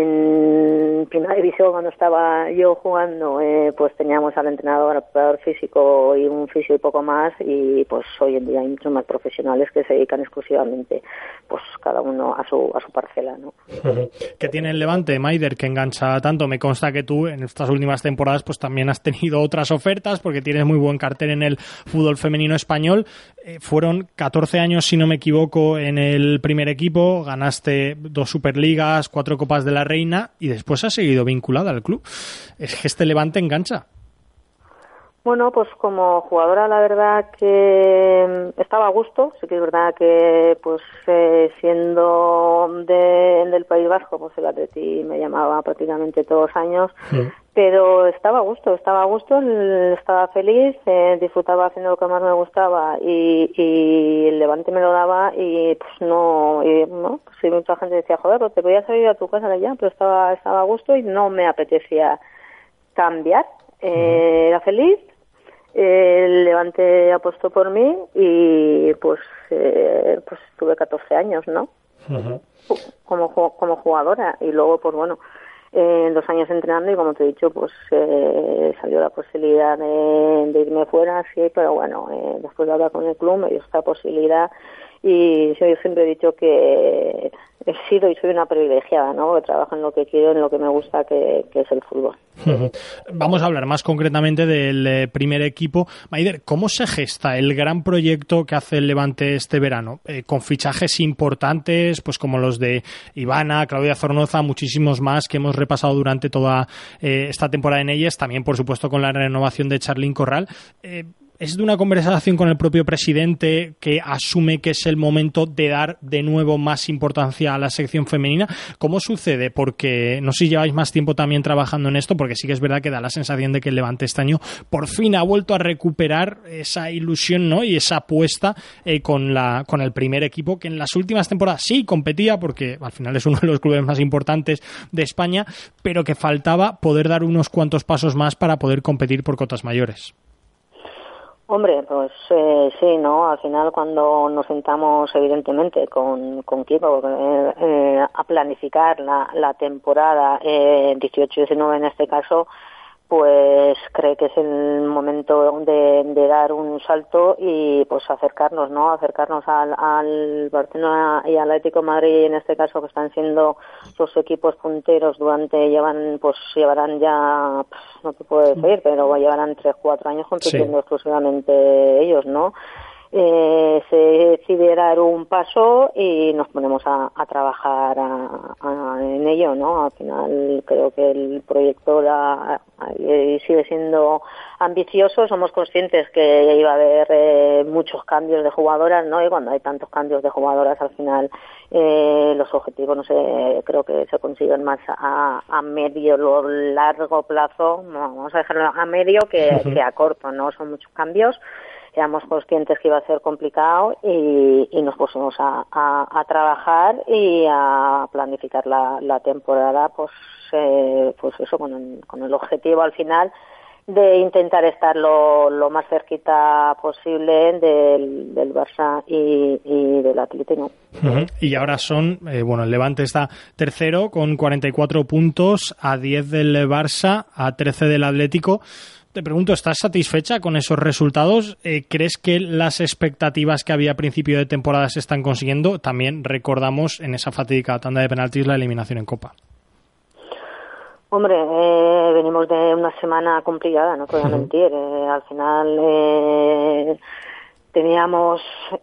en Primera División, cuando estaba yo jugando, pues teníamos al entrenador, al preparador físico y un fisio y poco más, y pues hoy en día hay muchos más profesionales que se dedican exclusivamente, pues cada uno a su parcela, ¿no? ¿Qué tiene el Levante, Maider, que engancha tanto? Me consta que tú en estas últimas temporadas pues también has tenido otras ofertas porque tienes muy buen cartel en el fútbol femenino español. Fueron 14 años, si no me equivoco, en el primer equipo, ganaste 2 Superligas, 4 Copas de la Reina y después has seguido vinculada al club. Es que este Levante engancha. Bueno, pues como jugadora la verdad que estaba a gusto, sí que es verdad que pues siendo del País Vasco, pues el Atleti me llamaba prácticamente todos los años, pero estaba a gusto, estaba feliz, disfrutaba haciendo lo que más me gustaba y el Levante me lo daba y pues no, pues sí, mucha gente decía, joder, pues te podías salir a tu casa ya, pero estaba a gusto y no me apetecía cambiar, era feliz. El Levante apostó por mí y pues tuve 14 años, ¿no? Como jugadora y luego pues bueno, 2 años entrenando y como te he dicho pues salió la posibilidad de irme fuera, sí, pero bueno, después de hablar con el club me dio esta posibilidad y yo siempre he dicho que he sido y soy una privilegiada, ¿no? Que trabajo en lo que quiero, en lo que me gusta, que es el fútbol. Vamos a hablar más concretamente del primer equipo. Maider, ¿cómo se gesta el gran proyecto que hace el Levante este verano? Con fichajes importantes, pues como los de Ivana, Claudia Zornoza, muchísimos más que hemos repasado durante toda esta temporada en ellas, también por supuesto con la renovación de Charlyn Corral. ¿Es de una conversación con el propio presidente que asume que es el momento de dar de nuevo más importancia a la sección femenina? ¿Cómo sucede? Porque no sé si lleváis más tiempo también trabajando en esto, porque sí que es verdad que da la sensación de que el Levante este año por fin ha vuelto a recuperar esa ilusión, ¿no? Y esa apuesta con el primer equipo, que en las últimas temporadas sí competía, porque al final es uno de los clubes más importantes de España, pero que faltaba poder dar unos cuantos pasos más para poder competir por cotas mayores. Hombre, pues sí, ¿no? Al final cuando nos sentamos evidentemente con Kiko a planificar la temporada 18-19 en este caso, pues cree que es el momento de dar un salto y pues acercarnos, ¿no? Acercarnos al Barcelona y al Atlético de Madrid en este caso, que están siendo los equipos punteros llevarán ya, no te puedo decir, pero llevarán 3-4 años compitiendo exclusivamente ellos, ¿no? Se decide dar un paso y nos ponemos a trabajar en ello, ¿no? Al final creo que el proyecto sigue siendo ambicioso. Somos conscientes que iba a haber muchos cambios de jugadoras, ¿no? Y cuando hay tantos cambios de jugadoras, al final los objetivos, no sé, creo que se consiguen más a medio o largo plazo. No, vamos a dejarlo a medio que a corto, ¿no? Son muchos cambios. Éramos conscientes que iba a ser complicado y nos pusimos a trabajar y a planificar la temporada, pues eso, con el objetivo al final de intentar estar lo más cerquita posible del Barça y del Atlético. Y ahora son, el Levante está tercero con 44 puntos, a 10 del Barça, a 13 del Atlético. Te pregunto, ¿estás satisfecha con esos resultados? ¿Crees que las expectativas que había a principio de temporada se están consiguiendo? También recordamos en esa fatídica tanda de penaltis la eliminación en Copa. Hombre, venimos de una semana complicada, no te voy a mentir. Al final teníamos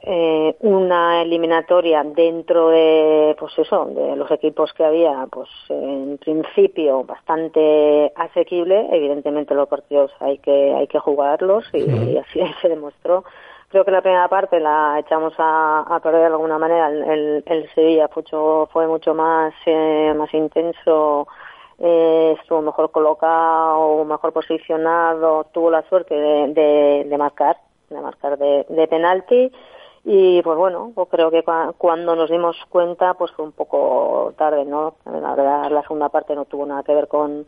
una eliminatoria dentro de de los equipos que había, pues en principio bastante asequible. Evidentemente los partidos hay que jugarlos y así se demostró. Creo que la primera parte la echamos a perder de alguna manera. El Sevilla fue mucho más intenso, estuvo mejor colocado, mejor posicionado, tuvo la suerte de marcar de penalti y pues bueno, pues creo que cuando nos dimos cuenta pues fue un poco tarde, ¿no? La verdad la segunda parte no tuvo nada que ver con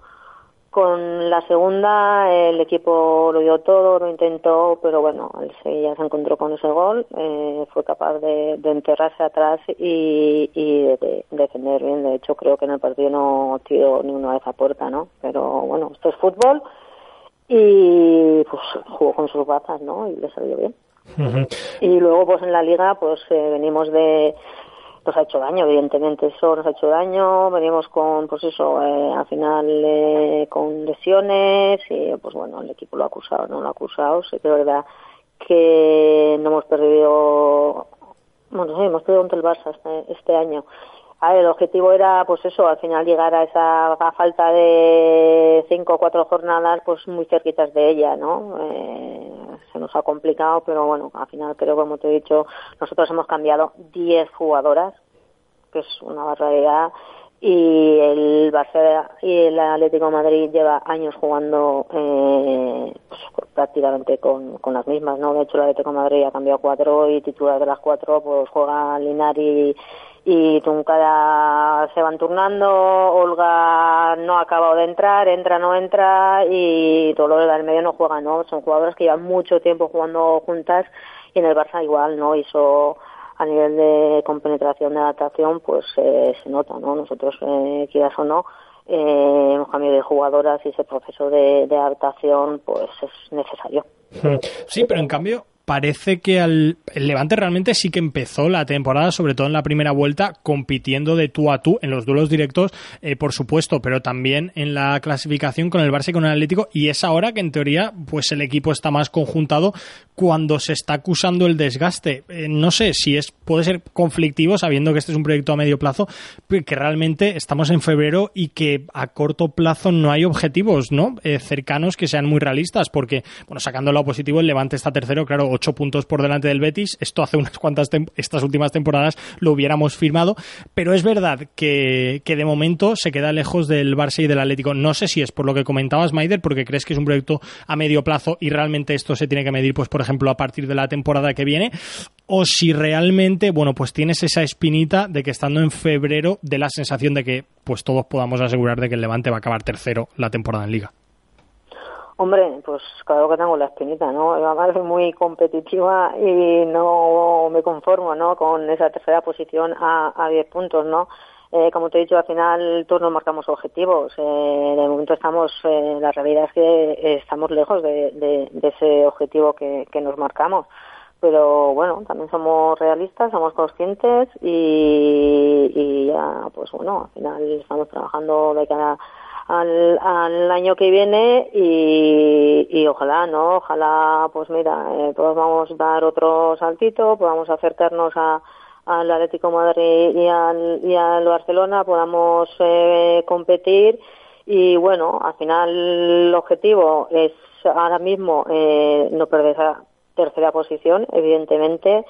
la segunda. El equipo lo dio todo, lo intentó, pero bueno, el Sevilla se encontró con ese gol, fue capaz de enterrarse atrás y de defender bien. De hecho creo que en el partido no tiró ni una vez a puerta, ¿no? Pero bueno, esto es fútbol y pues jugó con sus bazas, ¿no? Y le salió bien. Y luego pues en la liga pues venimos nos ha hecho daño, evidentemente eso nos ha hecho daño, venimos con al final con lesiones y pues bueno, el equipo lo ha acusado, no lo ha acusado. Sí que es verdad que no hemos perdido, hemos perdido contra el Barça este año. A ver, el objetivo era, pues eso, al final llegar a falta de 5 o 4 jornadas, pues muy cerquitas de ella, ¿no? Se nos ha complicado, pero bueno, al final creo, como te he dicho, nosotros hemos cambiado 10 jugadoras, que es una barbaridad, y el Barça y el Atlético de Madrid lleva años jugando pues, prácticamente con las mismas, ¿no? De hecho, el Atlético de Madrid ha cambiado 4 y titular de las 4 pues juega Linari y Tuncada, se van turnando. Olga no ha acabado de entrar, entra, no entra, y todo lo del medio no juega, ¿no? Son jugadoras que llevan mucho tiempo jugando juntas, y en el Barça igual, ¿no? Hizo a nivel de compenetración, de adaptación, pues se nota, ¿no? Nosotros, quieras o no, un cambio de jugadoras y ese proceso de adaptación, pues es necesario. Sí, pero en cambio parece que el Levante realmente sí que empezó la temporada, sobre todo en la primera vuelta, compitiendo de tú a tú en los duelos directos, por supuesto, pero también en la clasificación con el Barça y con el Atlético, y es ahora que en teoría pues el equipo está más conjuntado cuando se está acusando el desgaste. No sé si puede ser conflictivo, sabiendo que este es un proyecto a medio plazo, que realmente estamos en febrero y que a corto plazo no hay objetivos, ¿no? Cercanos que sean muy realistas, porque, bueno, sacando lo positivo, el Levante está tercero, claro, 8 puntos por delante del Betis. Esto hace unas cuantas estas últimas temporadas lo hubiéramos firmado, pero es verdad que de momento se queda lejos del Barça y del Atlético. No sé si es por lo que comentabas, Maider, porque crees que es un proyecto a medio plazo y realmente esto se tiene que medir, pues por ejemplo, a partir de la temporada que viene, o si realmente, bueno, pues tienes esa espinita de que estando en febrero de la sensación de que pues todos podamos asegurar de que el Levante va a acabar tercero la temporada en Liga. Hombre, pues claro que tengo la espinita, ¿no? Además es muy competitiva y no me conformo, ¿no? Con esa tercera posición a 10 puntos, ¿no? Como te he dicho, al final todos nos marcamos objetivos. De momento la realidad es que estamos lejos de ese objetivo que nos marcamos. Pero bueno, también somos realistas, somos conscientes y ya, pues bueno, al final estamos trabajando de cara al año que viene y ojalá, ¿no? Ojalá, pues mira, podamos dar otro saltito, podamos acercarnos al Atlético de Madrid y al Barcelona, podamos competir y bueno, al final el objetivo es ahora mismo no perder esa tercera posición, evidentemente,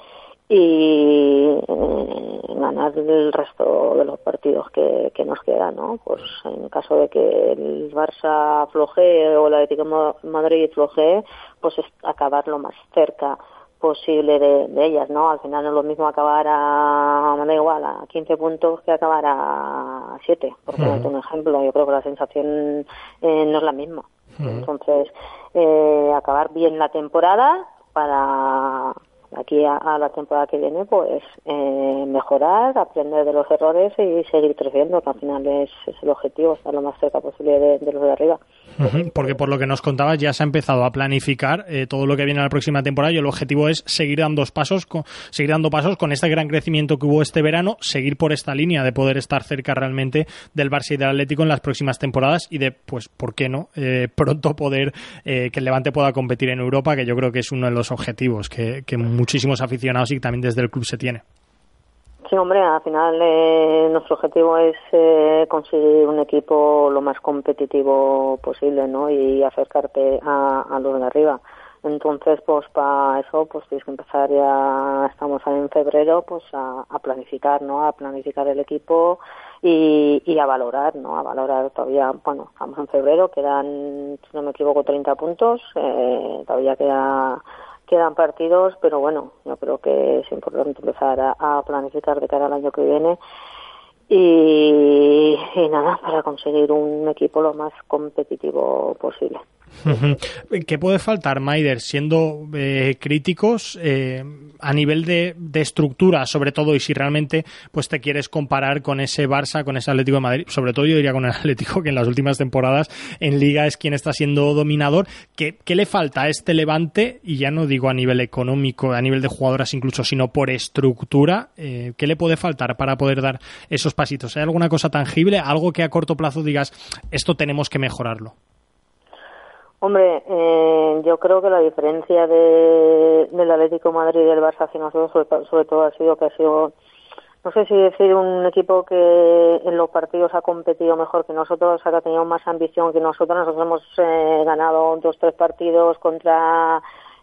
y ganar el resto de los partidos que nos quedan, ¿no? Pues en caso de que el Barça flojee o el Atlético de Madrid flojee, pues es acabar lo más cerca posible de ellas, ¿no? Al final no es lo mismo acabar me da igual, a 15 puntos que acabar a 7, por ponerte un ejemplo. Yo creo que la sensación no es la misma. Entonces, acabar bien la temporada para aquí a la temporada que viene, pues mejorar, aprender de los errores y seguir creciendo, que al final es el objetivo, estar lo más cerca posible de los de arriba. Porque por lo que nos contabas ya se ha empezado a planificar todo lo que viene a la próxima temporada y el objetivo es seguir dando pasos con este gran crecimiento que hubo este verano, seguir por esta línea de poder estar cerca realmente del Barça y del Atlético en las próximas temporadas y de, pues, ¿por qué no? Pronto poder que el Levante pueda competir en Europa, que yo creo que es uno de los objetivos que muchísimos aficionados y también desde el club se tiene. Sí, hombre, al final nuestro objetivo es conseguir un equipo lo más competitivo posible, ¿no? Y acercarte a los de arriba. Entonces, pues para eso, pues tienes que empezar, ya estamos en febrero, pues a planificar, ¿no? A planificar el equipo y a valorar, ¿no? A valorar todavía, bueno, estamos en febrero, quedan, si no me equivoco, 30 puntos, todavía quedan partidos, pero bueno, yo creo que es importante empezar a planificar de cara al año que viene y nada, para conseguir un equipo lo más competitivo posible. ¿Qué puede faltar, Maider, siendo críticos a nivel de estructura, sobre todo, y si realmente pues te quieres comparar con ese Barça, con ese Atlético de Madrid, sobre todo yo diría con el Atlético, que en las últimas temporadas en Liga es quien está siendo dominador? ¿Qué le falta a este Levante? Y ya no digo a nivel económico, a nivel de jugadoras incluso, sino por estructura. ¿Qué le puede faltar para poder dar esos pasitos? ¿Hay alguna cosa tangible, algo que a corto plazo digas, esto tenemos que mejorarlo? Hombre, yo creo que la diferencia del Atlético de Madrid y del Barça hacia nosotros, sobre todo, ha sido que ha sido no sé si decir un equipo que en los partidos ha competido mejor que nosotros, ha tenido más ambición que nosotros. Nosotros hemos ganado 2-3 partidos contra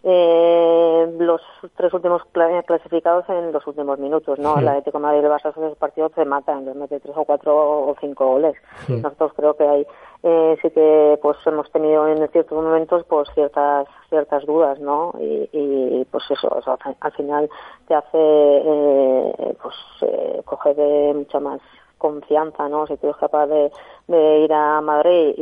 los 3 últimos clasificados en los últimos minutos, ¿no? El Atlético de Madrid y el Barça, esos partidos se matan, les mete 3 o 4 o 5 goles. Nosotros creo que hay sí que pues hemos tenido en ciertos momentos pues ciertas dudas, ¿no? Y pues eso, al final te hace coger de mucha más confianza, ¿no? Si tú eres capaz de ir a Madrid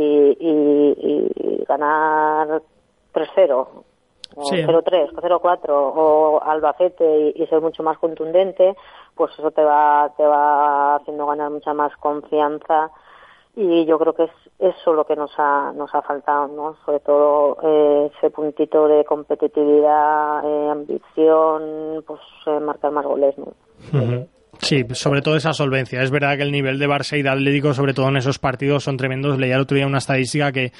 y ganar 3-0 o 0-3 o 0-4 o Albacete y ser mucho más contundente, pues eso te va haciendo ganar mucha más confianza. Y yo creo que es eso lo que nos ha faltado, ¿no? Sobre todo ese puntito de competitividad, ambición, pues marcar más goles, ¿no? Sí, sobre todo esa solvencia. Es verdad que el nivel de Barça y de Atlético, sobre todo en esos partidos, son tremendos. Leía el otro día una estadística que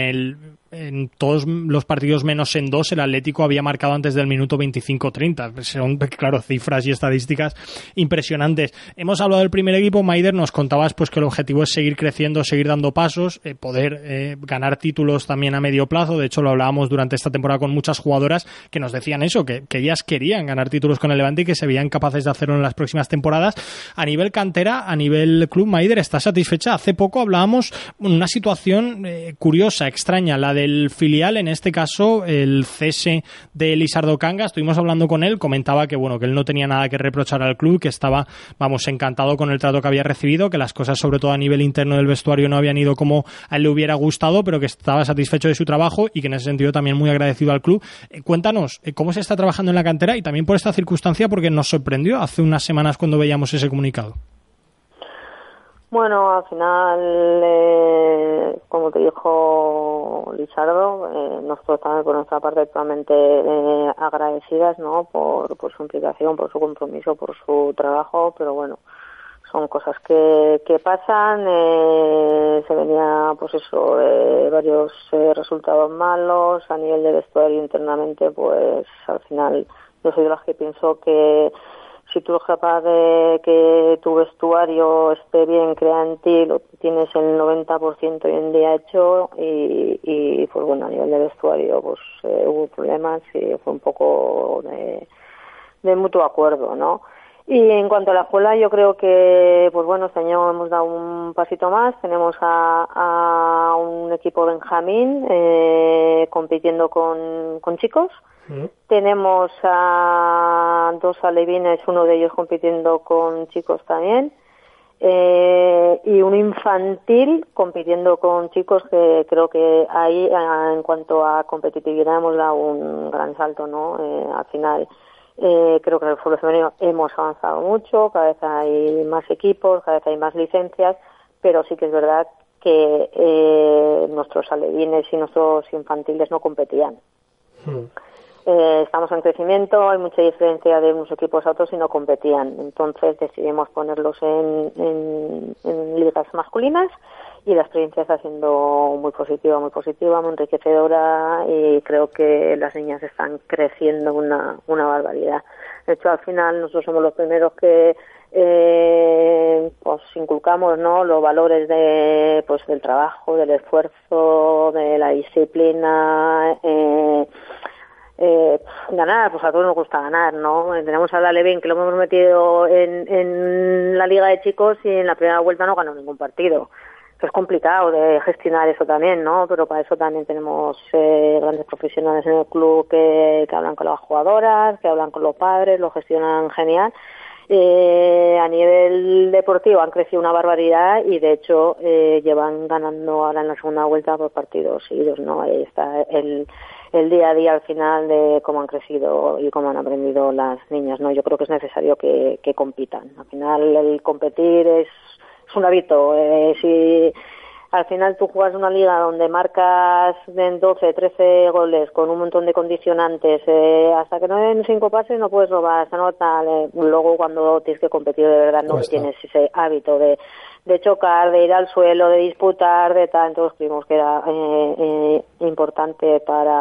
en todos los partidos menos en 2 el Atlético había marcado antes del minuto 25-30. Son, claro, cifras y estadísticas impresionantes. Hemos hablado del primer equipo. Maider, nos contabas pues que el objetivo es seguir creciendo, seguir dando pasos, poder ganar títulos también a medio plazo. De hecho, lo hablábamos durante esta temporada con muchas jugadoras que nos decían eso, que ellas querían ganar títulos con el Levante y que se veían capaces de hacerlo en las próximas temporadas. A nivel cantera, a nivel club, Maider, ¿está satisfecha? Hace poco hablábamos de una situación curiosa, extraña, la del filial, en este caso el cese de Lizardo Canga. Estuvimos hablando con él, comentaba que bueno, que él no tenía nada que reprochar al club, que estaba, encantado con el trato que había recibido, que las cosas sobre todo a nivel interno del vestuario no habían ido como a él le hubiera gustado, pero que estaba satisfecho de su trabajo y que en ese sentido también muy agradecido al club. Cuéntanos, ¿cómo se está trabajando en la cantera? Y también por esta circunstancia, porque nos sorprendió hace unas semanas cuando veíamos ese comunicado. Bueno, al final, como te dijo Lizardo, nosotros también por nuestra parte totalmente agradecidas, ¿no? Por su implicación, por su compromiso, por su trabajo, pero bueno, son cosas que pasan. Se venía, pues eso, varios resultados malos a nivel de vestuario internamente, pues al final yo soy de las que pienso que si tú eres capaz de que tu vestuario esté bien, crea en ti, lo tienes el 90% hoy en día hecho y pues bueno, a nivel de vestuario pues hubo problemas y fue un poco de mutuo acuerdo, ¿no? Y en cuanto a la escuela, yo creo que pues bueno, este año hemos dado un pasito más. Tenemos a un equipo Benjamín compitiendo con chicos. Tenemos a 2 alevines, uno de ellos compitiendo con chicos también, y un infantil compitiendo con chicos, que creo que ahí en cuanto a competitividad hemos dado un gran salto, ¿no? Al final creo que en el fútbol femenino hemos avanzado mucho, cada vez hay más equipos, cada vez hay más licencias, pero sí que es verdad que nuestros alevines y nuestros infantiles no competían. Estamos en crecimiento, hay mucha diferencia de unos equipos a otros y no competían. Entonces decidimos ponerlos en ligas masculinas y la experiencia está siendo muy positiva, muy enriquecedora, y creo que las niñas están creciendo una barbaridad. De hecho, al final nosotros somos los primeros que pues inculcamos, ¿no?, los valores del trabajo, del esfuerzo, de la disciplina. Ganar, pues a todos nos gusta ganar, ¿no? Tenemos a la Levin, que lo hemos metido en la liga de chicos y en la primera vuelta no ganó ningún partido. Es complicado de gestionar eso también, ¿no? Pero para eso también tenemos grandes profesionales en el club que hablan con las jugadoras, que hablan con los padres, lo gestionan genial. A nivel deportivo han crecido una barbaridad y de hecho llevan ganando ahora en la segunda vuelta por partidos seguidos, ¿no? Ahí está el día a día al final de cómo han crecido y cómo han aprendido las niñas, ¿no? Yo creo que es necesario que compitan. Al final el competir es un hábito. Si al final tú juegas una liga donde marcas en 12, 13 goles con un montón de condicionantes, hasta que no den 5 pases no puedes robar, se nota. Luego cuando tienes que competir de verdad no tienes ese hábito de chocar, de ir al suelo, de disputar, de tal. Entonces creímos que era importante para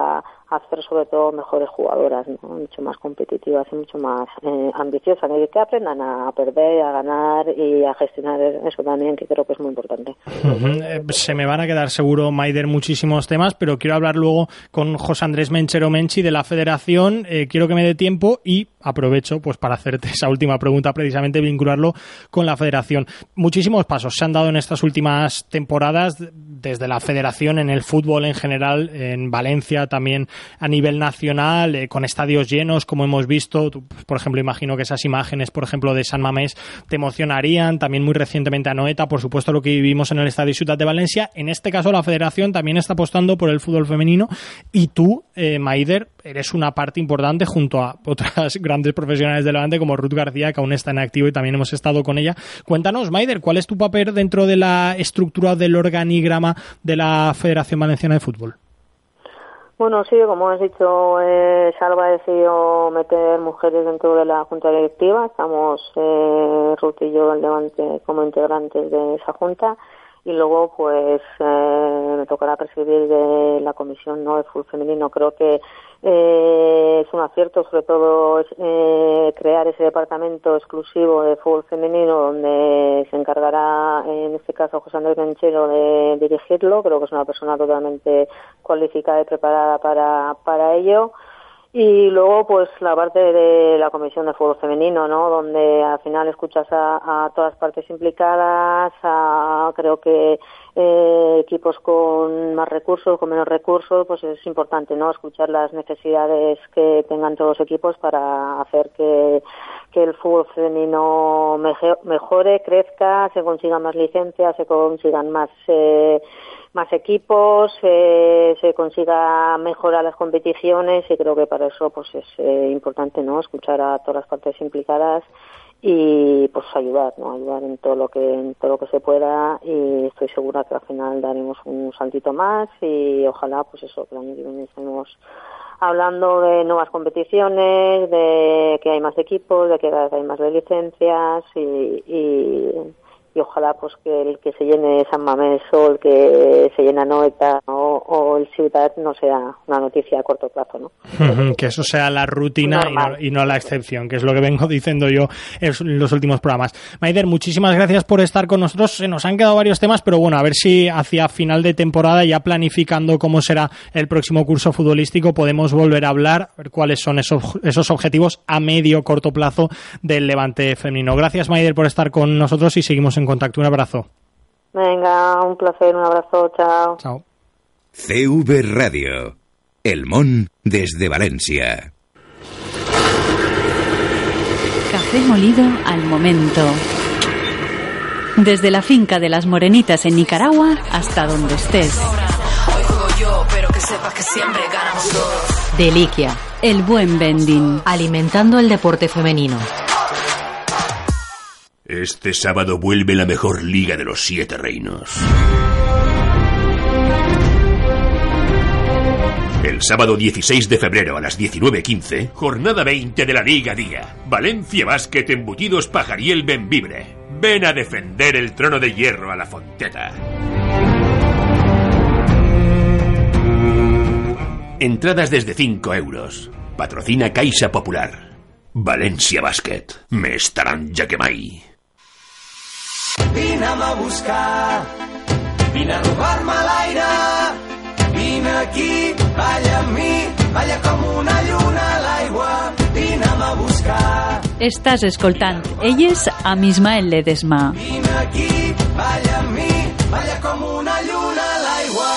hacer sobre todo mejores jugadoras, ¿no? Mucho más competitivas y mucho más ambiciosas, y que aprendan a perder, a ganar y a gestionar eso también, que creo que es muy importante. Se me van a quedar seguro, Maider, muchísimos temas, pero quiero hablar luego con José Andrés Menchero Menchi de la Federación. Quiero que me dé tiempo y aprovecho pues para hacerte esa última pregunta, precisamente vincularlo con la Federación. Muchísimos pasos se han dado en estas últimas temporadas desde la Federación en el fútbol en general, en Valencia también a nivel nacional, con estadios llenos, como hemos visto. Tú, por ejemplo, imagino que esas imágenes, por ejemplo, de San Mamés te emocionarían. También muy recientemente a Noeta, por supuesto, lo que vivimos en el Estadio Ciutat de Valencia. En este caso, la Federación también está apostando por el fútbol femenino y tú, Maider, eres una parte importante junto a otras grandes profesionales de Levante como Ruth García, que aún está en activo y también hemos estado con ella. Cuéntanos, Maider, ¿cuál es tu papel dentro de la estructura del organigrama de la Federación Valenciana de Fútbol? Bueno, sí, como has dicho, Salva ha decidido meter mujeres dentro de la junta directiva. Estamos Ruth y yo en Levante como integrantes de esa junta. Y luego, pues, me tocará presidir de la comisión, ¿no?, de fútbol femenino. Creo que es un acierto, sobre todo, crear ese departamento exclusivo de fútbol femenino donde se encargará, en este caso, José Andrés Menchero de dirigirlo. Creo que es una persona totalmente cualificada y preparada para ello. Y luego, pues, la parte de la Comisión de Fútbol Femenino, ¿no?, donde al final escuchas a todas partes implicadas, creo que equipos con más recursos, con menos recursos, pues es importante, ¿no?, escuchar las necesidades que tengan todos los equipos para hacer que el fútbol femenino mejore, crezca, se consigan más licencias, se consigan más equipos, se consiga mejorar las competiciones, y creo que para eso pues es importante, ¿no?, escuchar a todas las partes implicadas y pues ayudar en todo lo que se pueda, y estoy segura que al final daremos un saltito más y ojalá pues eso, que el año que viene estemos hablando de nuevas competiciones, de que hay más equipos, de que hay más licencias y ojalá pues que el que se llene San Mamés o el que se llena Noeta o el Ciutat no sea una noticia a corto plazo, ¿no? Que eso sea la rutina y no la excepción, que es lo que vengo diciendo yo en los últimos programas. Maider, muchísimas gracias por estar con nosotros. Se nos han quedado varios temas, pero bueno, a ver si hacia final de temporada, ya planificando cómo será el próximo curso futbolístico, podemos volver a hablar, a ver cuáles son esos objetivos a medio corto plazo del Levante femenino. Gracias, Maider, por estar con nosotros y seguimos en contacto. Un abrazo. Venga, un placer, un abrazo, chao. Chao. CV Radio, El Món desde Valencia. Café molido al momento. Desde la finca de las Morenitas en Nicaragua hasta donde estés. Hoy juego yo, pero que sepas que siempre ganamos todos. Deliquia. El buen vending. Alimentando el deporte femenino. Este sábado vuelve la mejor liga de los 7 reinos. El sábado 16 de febrero a las 19:15, jornada 20 de la Liga Día. Valencia Básquet Embutidos Pajariel Benvibre. Ven a defender el trono de hierro a la Fonteta. Entradas desde 5 euros. Patrocina Caixa Popular. Valencia Básquet. Me estaran ja que mai. Vine'm a buscar, vine a robar-me l'aire, vine aquí, balla amb mi, balla com una lluna a l'aigua, vine'm a buscar. Estàs escoltant Elles amb Ismael Ledesma. Vine aquí, balla amb mi, balla com una lluna a l'aigua.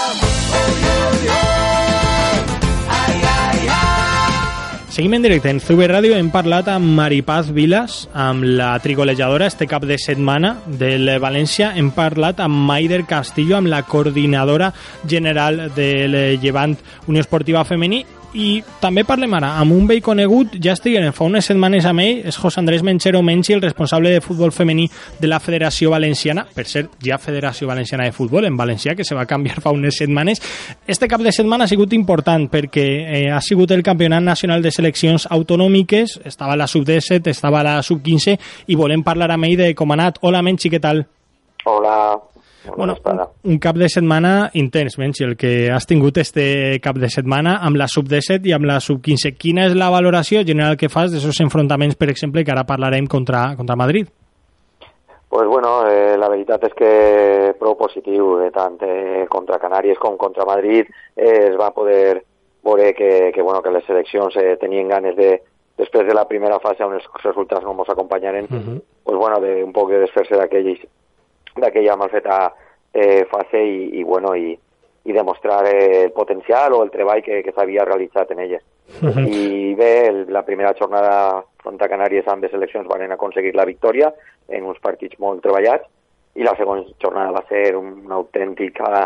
Seguim en directe en CV Ràdio. Hem parlat amb Maripaz Vilas, amb la trigolejadora este cap de setmana del València. Hem parlat amb Maider Castillo, amb la coordinadora general del Llevant Unió Esportiva Femení. I també parlem ara amb un vell conegut, ja estiguem fa unes setmanes amb ell, és José Andrés Menchero Menchi, el responsable de futbol femení de la Federació Valenciana, per cert, ja Federació Valenciana de Futbol en valencià, que se va canviar fa unes setmanes. Este cap de setmana ha sigut important perquè ha sigut el Campionat Nacional de Seleccions Autonòmiques, estava la sub-17, estava la sub-15, i volem parlar amb ell de com ha anat. Hola, Menchi, què tal? Hola. Bueno, un cap de setmana intens, Menchi, el que has tingut este cap de setmana amb la sub-17 i amb la sub-15. Quina és la valoració general que fas d'aquests enfrontaments, per exemple, que ara parlarem contra Madrid? Pues bueno, la veritat és que prou positiu, tant contra Canàries com contra Madrid es va poder veure que les seleccions tenien ganes després de la primera fase on els resultats no ens acompanyaren, pues bueno, de un poc de desfer-se d'aquella mal feta fase i demostrar el potencial o el treball que s'havia realitzat en elles. I bé, la primera jornada contra Canàries amb les seleccions van aconseguir la victòria en uns partits molt treballats, i la segona jornada va ser una autèntica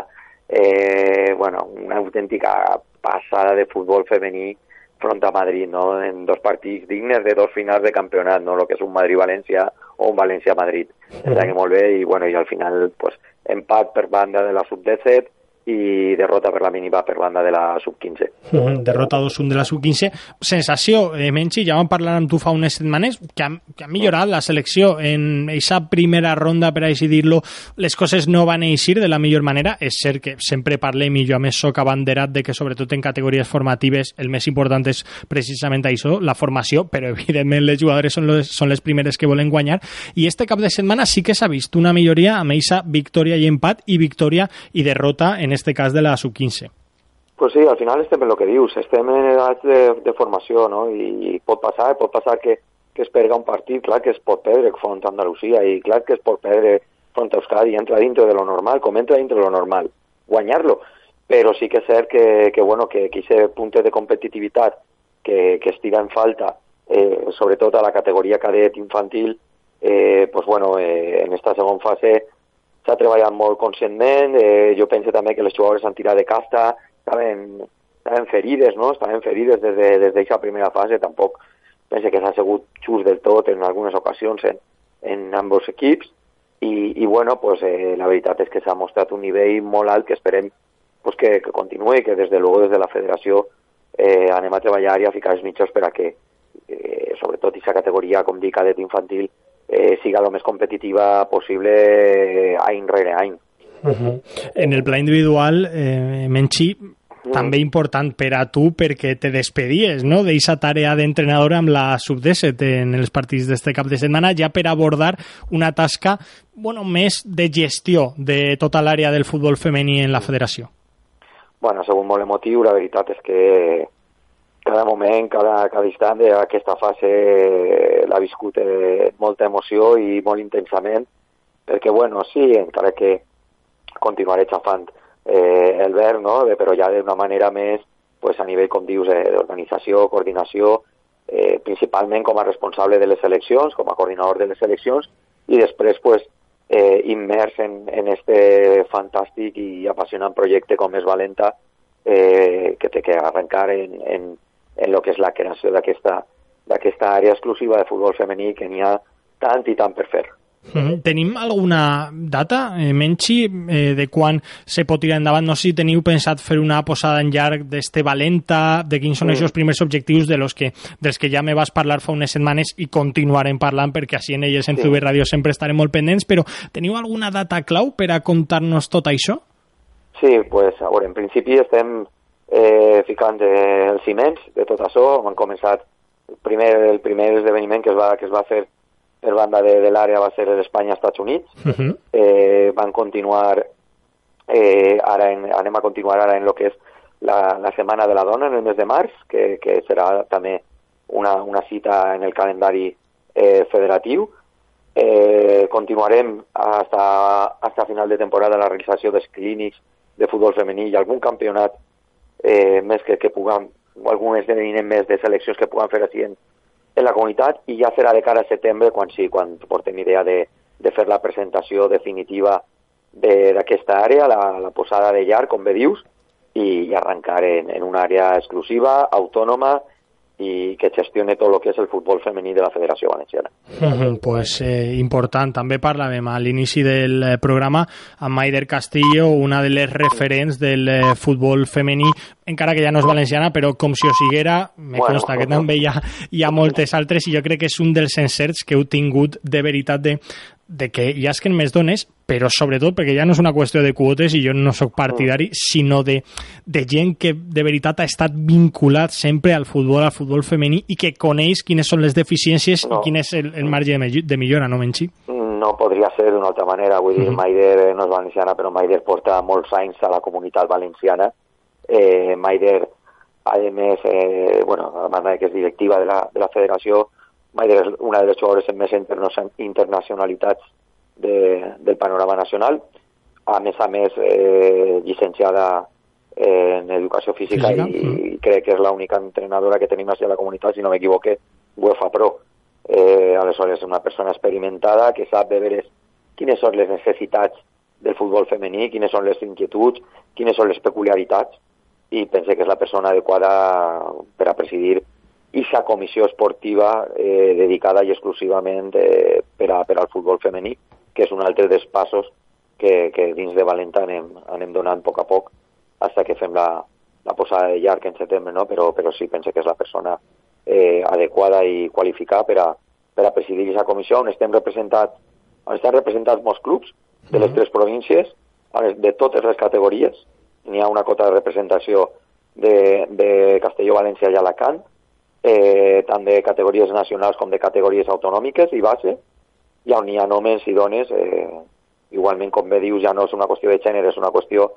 passada de futbol femení front a Madrid, no? En dos partits dignes de dos finals de campionat, no? Lo que és un Madrid-València o un València-Madrid. Està molt bé, i al final pues, empat per banda de la sub-17 i derrota per la mínima per banda de la sub-15. Derrota 2-1 de la sub-15. Sensació, Menchi, ja vam parlar amb tu fa unes setmanes, que ha millorat la selecció en aquesta primera ronda, per així dir-lo. Les coses no van eixir de la millor manera. És cert que sempre parlem, i jo a més soc abanderat de que sobretot en categories formatives el més important és precisament això, la formació, però evidentment les jugadores són les primeres que volen guanyar, i este cap de setmana sí que s'ha vist una milloria amb aquesta victòria i empat, i victòria i derrota en este cas de la sub-15. Pues sí, al final estem en el que dius, estem en edats de formació, no? I pot passar que es perga un partit, clar que es pot perdre front a Andalusia, i clar que es pot perdre front a Euskadi, i entra dintre de lo normal, com entra dintre de lo normal, guanyar-lo, però sí que és cert que aquest punt de competitivitat que es tira en falta, sobretot a la categoria cadet infantil, en esta segona fase s'ha treballat molt conscientment. Jo penso també que les jugadores han tirat de casta, estaven ferides, no? Estaven ferides des d'aquesta primera fase. Tampoc penso que s'ha sigut just del tot en algunes ocasions en ambos equips, i la veritat és que s'ha mostrat un nivell molt alt que esperem que continuï, que des de la federació anem a treballar i a ficar els mitjans per a que sobretot aquesta categoria, com dic, cadet infantil, siga el més competitiva possible any rere any. En el pla individual, Menchi, també important per a tu perquè te despedies, no?, d'eixa tarea d'entrenador amb la sub-17 en els partits d'este cap de setmana, ja per abordar una tasca més de gestió de tota l'àrea del futbol femení en la federació. Ha sigut molt emotiu, la veritat és que cada moment, cada instant d'aquesta fase l'ha viscut molta emoció i molt intensament, perquè, sí, encara que continuaré xafant el verd, no?, però ja d'una manera més, a nivell, com dius, d'organització, coordinació, principalment com a responsable de les seleccions, com a coordinador de les seleccions, i després, immers en este fantàstic i apassionant projecte com és Valenta, que té que arrencar en el que és la creació d'aquesta àrea exclusiva de futbol femení, que n'hi ha tant i tant per fer. Tenim alguna data, Menchi, de quan se pot tirar endavant? No sé si teniu pensat fer una posada en llarg d'este Valenta, de quins són els primers objectius dels que ja me vas parlar fa unes setmanes i continuarem parlant, perquè així en elles en CB Ràdio sempre estarem molt pendents, però teniu alguna data clau per a contar-nos tot això? Sí, a veure, en principi estem ficant els ciments de tot això. Hem començat el primer esdeveniment que es va fer per banda de l'àrea va ser l'Espanya-Estats Units. Van continuar anem a continuar ara en el que és la Setmana de la Dona en el mes de març, que serà també una cita en el calendari federatiu. Continuarem hasta final de temporada la realització dels clínics de futbol femení i algun campionat més que puguem, o algun esdeveniment més de seleccions que puguem fer així en la comunitat, i ja serà de cara a setembre quan portem idea de fer la presentació definitiva d'aquesta àrea, la posada de llarg, com bé dius, i arrencar en una àrea exclusiva, autònoma, i que gestione tot el que és el futbol femení de la Federació Valenciana. Important. També parlàvem a l'inici del programa amb Maider Castillo, una de les referents del futbol femení, encara que ja no és valenciana, però com si ho siguera, consta que també hi ha moltes altres, i jo crec que és un dels encerts que heu tingut de veritat de que ja és que en més dones, però sobretot perquè ja no és una qüestió de quotes i jo no sóc partidari, sinó de gent que de veritat ha estat vinculat sempre al futbol femení i que coneix quines són les deficiències i quin és el marge de millora, no, Menchi? No podria ser d'una altra manera, vull dir, Maider no és valenciana, però Maider porta molts anys a la comunitat valenciana. Maider, a més, a banda que és directiva de la federació, Maider és una de les jugadores amb més internacionalitats del panorama nacional, a més, llicenciada en educació física i crec que és l'única entrenadora que tenim a la comunitat, si no m'equivoque, UEFA Pro. Aleshores, una persona experimentada que sap de veres quines són les necessitats del futbol femení, quines són les inquietuds, quines són les peculiaritats, i pense que és la persona adequada per a presidir aquesta comissió esportiva dedicada i exclusivament per al futbol femení, que és un altre dels passos que dins de Valenta anem donant a poc fins que fem la posada de llarg en setembre, no? Però sí, pense que és la persona adequada i qualificada per a presidir aquesta comissió, on estan representats molts clubs de les 3 províncies, de totes les categories. N'hi ha una cota de representació de Castelló, València i Alacant, tant de categories nacionals com de categories autonòmiques i base, i on hi ha homes i dones, igualment, com bé dius, ja no és una qüestió de gènere, és una qüestió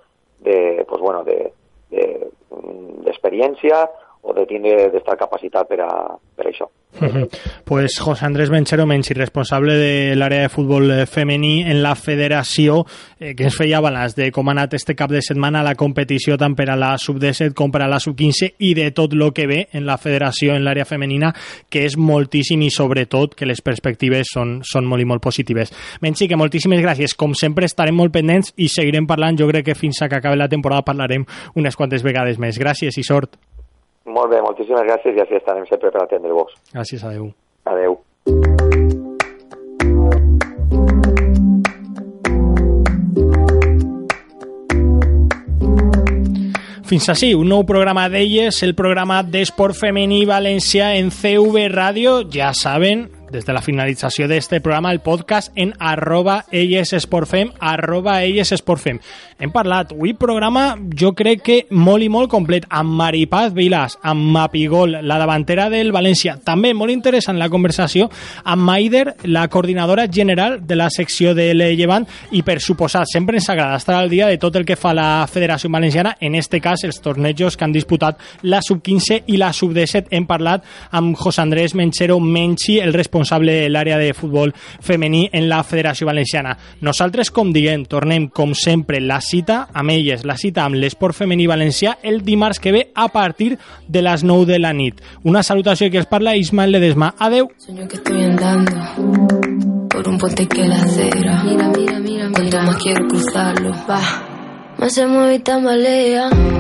d'experiència o d'estar capacitat per això. Pues José Andrés Menchero Menchi, responsable de l'àrea de futbol femení en la federació, que ens feia balanç de com ha anat este cap de setmana la competició tant per a la sub-17 com per a la sub-15 i de tot el que ve en la federació en l'àrea femenina, que és moltíssim i sobretot que les perspectives són molt i molt positives. Menchi, que moltíssimes gràcies. Com sempre estarem molt pendents i seguirem parlant. Jo crec que fins a que acabi la temporada parlarem unes quantes vegades més. Gràcies i sort. Molt bé, moltíssimes gràcies i així estarem sempre per atendre-vos. Gràcies, adeu. Adeu. Fins així, un nou programa d'elles, el programa d'esport femení valencià en CV Ràdio. Ja saben, des de la finalització d'este programa, el podcast en @ellesesportfem, @ellesesportfem. Hem parlat, avui programa jo crec que molt i molt complet, amb Maripaz Vilàs, amb Mapigol, la davantera del València. També molt interessant la conversació amb Maider, la coordinadora general de la secció del Llevant, i per suposat, sempre ens agrada estar al dia de tot el que fa la Federació Valenciana, en este cas els tornejos que han disputat la sub-15 i la sub-17. Hem parlat amb José Andrés Menchero Menchi, el responsable de l'àrea de futbol femení en la Federació Valenciana. Nosaltres, com diguem, tornem com sempre la cita amb elles, la cita amb l'esport femení valencià el dimarts que ve a partir de les 9 de la nit. Una salutació que els parla Ismael Ledesma. Adeu. Sueño que estoy andando por un puente que la acera. Mira. Cuanto más quiero cruzarlo, va. Más se mueve y tambalea.